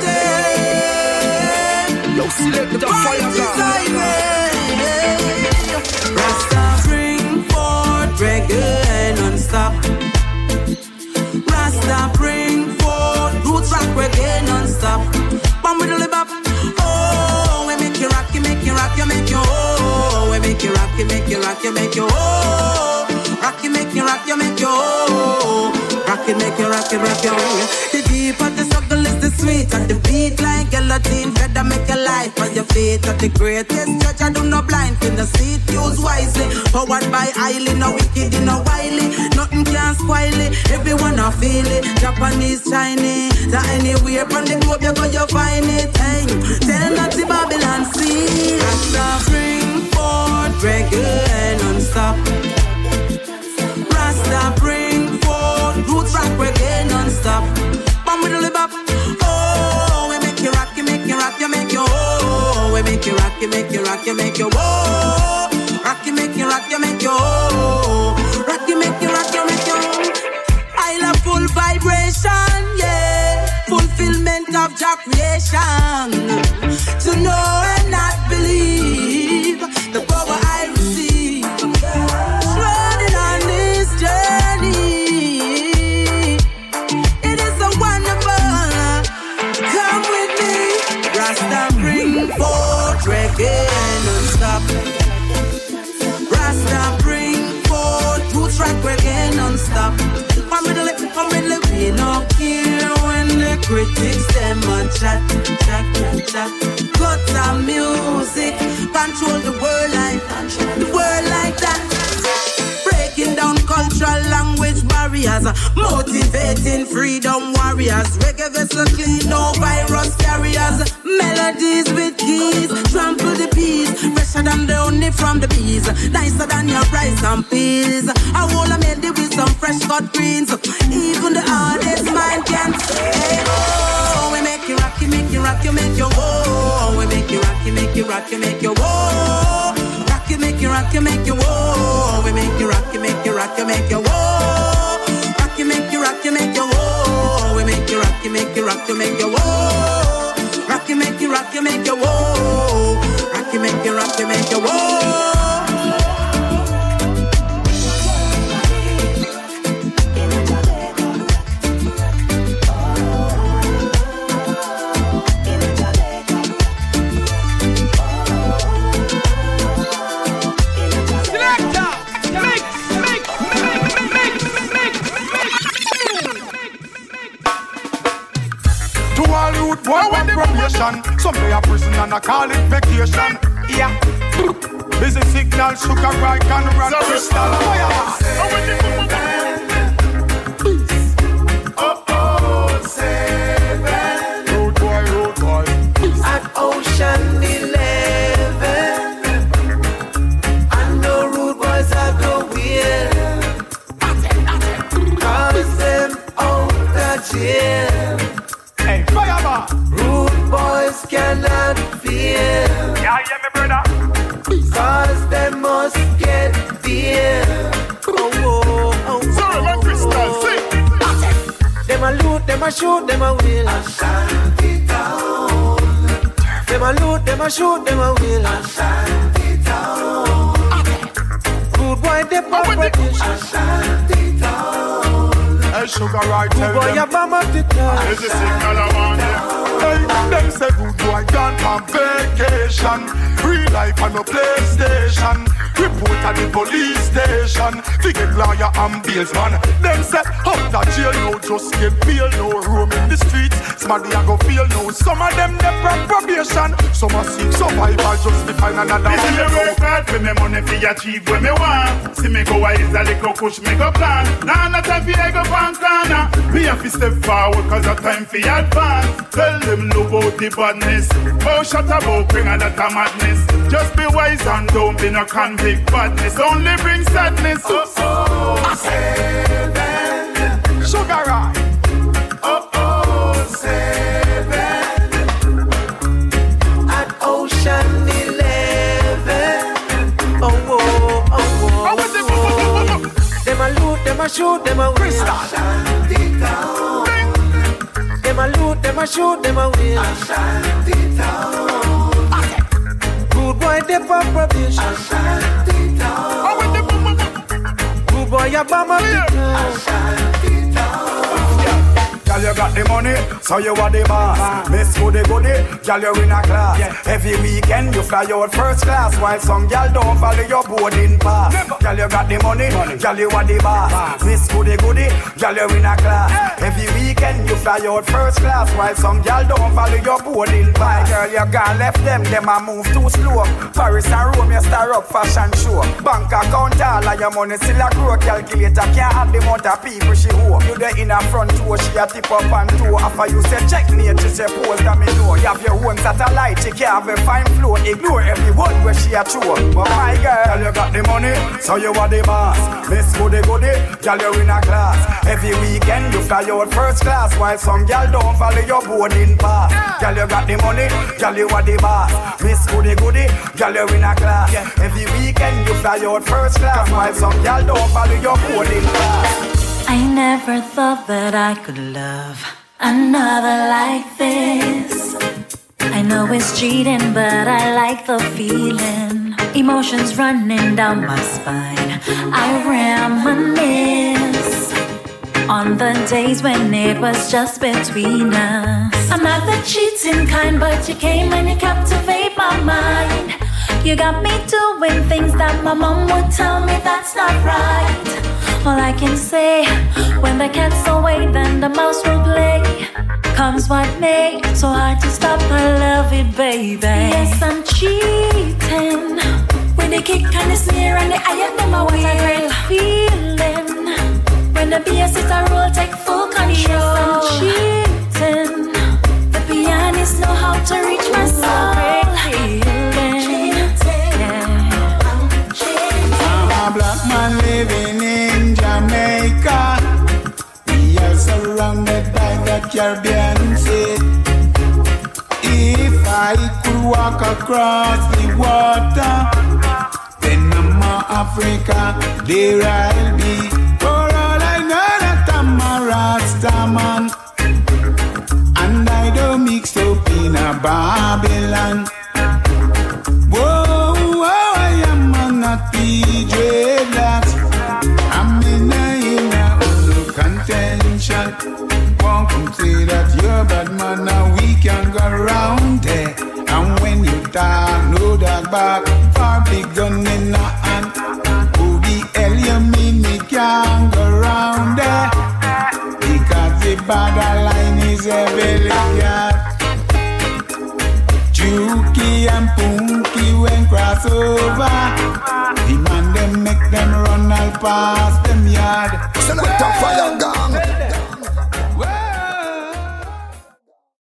S8: something.
S24: Yo, select the fire gun.
S8: Rasta bring forth reggae non-stop. Rasta bring forth roots rock reggae non-stop. Bam with the bop. Oh, we make you rock, you make you rock, you make you oh. We make you rock, you make you rock, you make you oh. Rock, you make you rock, you make you oh. Rock, you make you rock, you rock, you oh. The deep of the struggle is the sweet, and the beat like guillotine feather make your life on your feet. At the greatest church, I do no blind in the seat, use wisely. Powered by highly, no wicked, no wily. Nothing can spoil it, everyone I feel it. Japanese, Chinese, that anywhere from the globe you go, you find it. Hey, tell not the Babylon see. Rasta bring forth reggae non-stop. Rasta bring forth roots rock reggae non-stop. Bam with the bop. Oh, we make you rock, you make you rock, you make you oh. We make you rock, you make you rock, you make you oh. Rock, you make you rock, you make you oh. Rock, you make you rock, you make you oh. I love full vibration, yeah. Fulfillment of Jah creation. To know and not believe the power I receive. Running on this journey, it is so wonderful. Come with me. Rasta bring forth reggae non-stop. Rasta bring forth roots rock reggae non-stop. Come with the we don't care when the critics them a chat, chat, chat. Cut the music, control the world like that. Breaking down cultural language barriers, motivating freedom warriors. Reggae vessel clean, no virus carriers. Melodies with keys, trample the peace. Fresher than the honey from the bees, nicer than your rice and peas. I wanna made it with some fresh cut greens. Even the hardest mind can say, oh, we make you rock, you make you rock, you make you oh. We make you rock, you make you rock, you make you oh. Rock, you make you rock, you make you oh. We make you rock, you make you rock, you make you oh. Rock, you make you rock, you make you oh. We make you rock, you make you rock, you make you oh. Rock, you make you rock, you make you oh. Rock, you make you rock, you make you oh.
S20: Boy, when probation, someday a prison and I call it vacation. Yeah. Busy signal, sugar, right, and rock, crystal, fire. Oh, 7. Road boy.
S8: At Ocean 11. I know rude boys are the wheel. Cause them out the jail.
S20: Hey, fire!
S8: Rude boys cannot fear.
S20: Yeah, me brother.
S8: Cause they must get beer. Oh.
S20: Sorry, my crystal, sing.
S8: Them a loot, them a shoot, them a will.
S2: Ashanti town.
S8: Them a loot, them a shoot, them a will.
S2: Ashanti town.
S8: Rude boy, they pop British.
S2: Ashanti town.
S20: Hey, sugar, right, tell
S8: boy, you bomb up the town.
S20: There's a signal around them. Hey, them say good boy gone on vacation. Real life on no PlayStation. Report at the police station. Figure lawyer and bails man. Them say out of jail no just get bail. No room in the streets. Somebody a go feel no. Some of them they on probation. Some are seek survival just to find another.
S6: This is the work hard for me money for achieve what me want. See me go wise a little push me go plan. Nah, not time for I go pan corner. Me have to step forward cause of time for advance. Tell them no about the badness. Oh shut up about bring a that a madness. Just be wise and don't be no convict badness. Only bring sadness. Oh,
S2: 7.
S4: them a shoot, them a win. Them a loot, them a shoot, them a win. Good boy, they pop probation. Good boy, you bomb up the
S5: Girl, you got the money, so you are the boss. Miss Goody Goody, girl, you in a class. Every weekend you fly out first class, while some girl don't follow your boarding pass. Girl, you got the money, girl, you are the boss. Miss Goody Goody, girl, you in a class. Every weekend you fly out first class, while some girl don't follow your boarding pass. Girl, you gone left them a move too slow. Paris and Rome, you star up fashion show. Bank account all of your money still a grow. Calculator can't have the amount of people she owe. You there in a front door, she a tip up and two. After you say checkmate, she say pose that me know. You have your own satellite, she can't have a fine flow. Ignore every word where she a true. But my girl, you got the money, so you are the boss. Miss Goody Goody, girl, you in a class. Every weekend you fly out first class, while some girl don't follow your boarding pass. Girl, you got the money, girl, you are the boss. Miss Goody Goody, girl, you in a class. Every weekend you fly out first class, while some girl don't follow your boarding pass.
S1: I never thought that I could love another like this. I know it's cheating, but I like the feeling. Emotions running down my spine. I reminisce on the days when it was just between us. I'm not the cheating kind, but you came and you captivate my mind. You got me doing things that my mom would tell me that's not right. All I can say, when the cat's away, then the mouse will play. Comes what may, so hard to stop, I love it, baby. Yes, I'm cheating. When they kick and the snare and the eye of them, I want a great feeling. When the BS is a roll, take full control. Yes, I'm cheating. The pianists know how to reach my soul.
S9: I'm a black man living in Jamaica. We are surrounded by the Caribbean Sea. If I could walk across the water, then I'm a Africa, there I'll be. For all I know that I'm a Rasta man, and I don't mix up in a Babylon. Whoa, I am not DJ Blacks. I'm in a contention. Won't come say that you're bad man, now we can go around there. And when you talk, no dog back, far big gun in the hand. Who the hell you mean me can't go around there? Because the borderline is a elegant. Juki and Punky when cross over. The man them make them run all past them yard.
S13: Select a fire gang.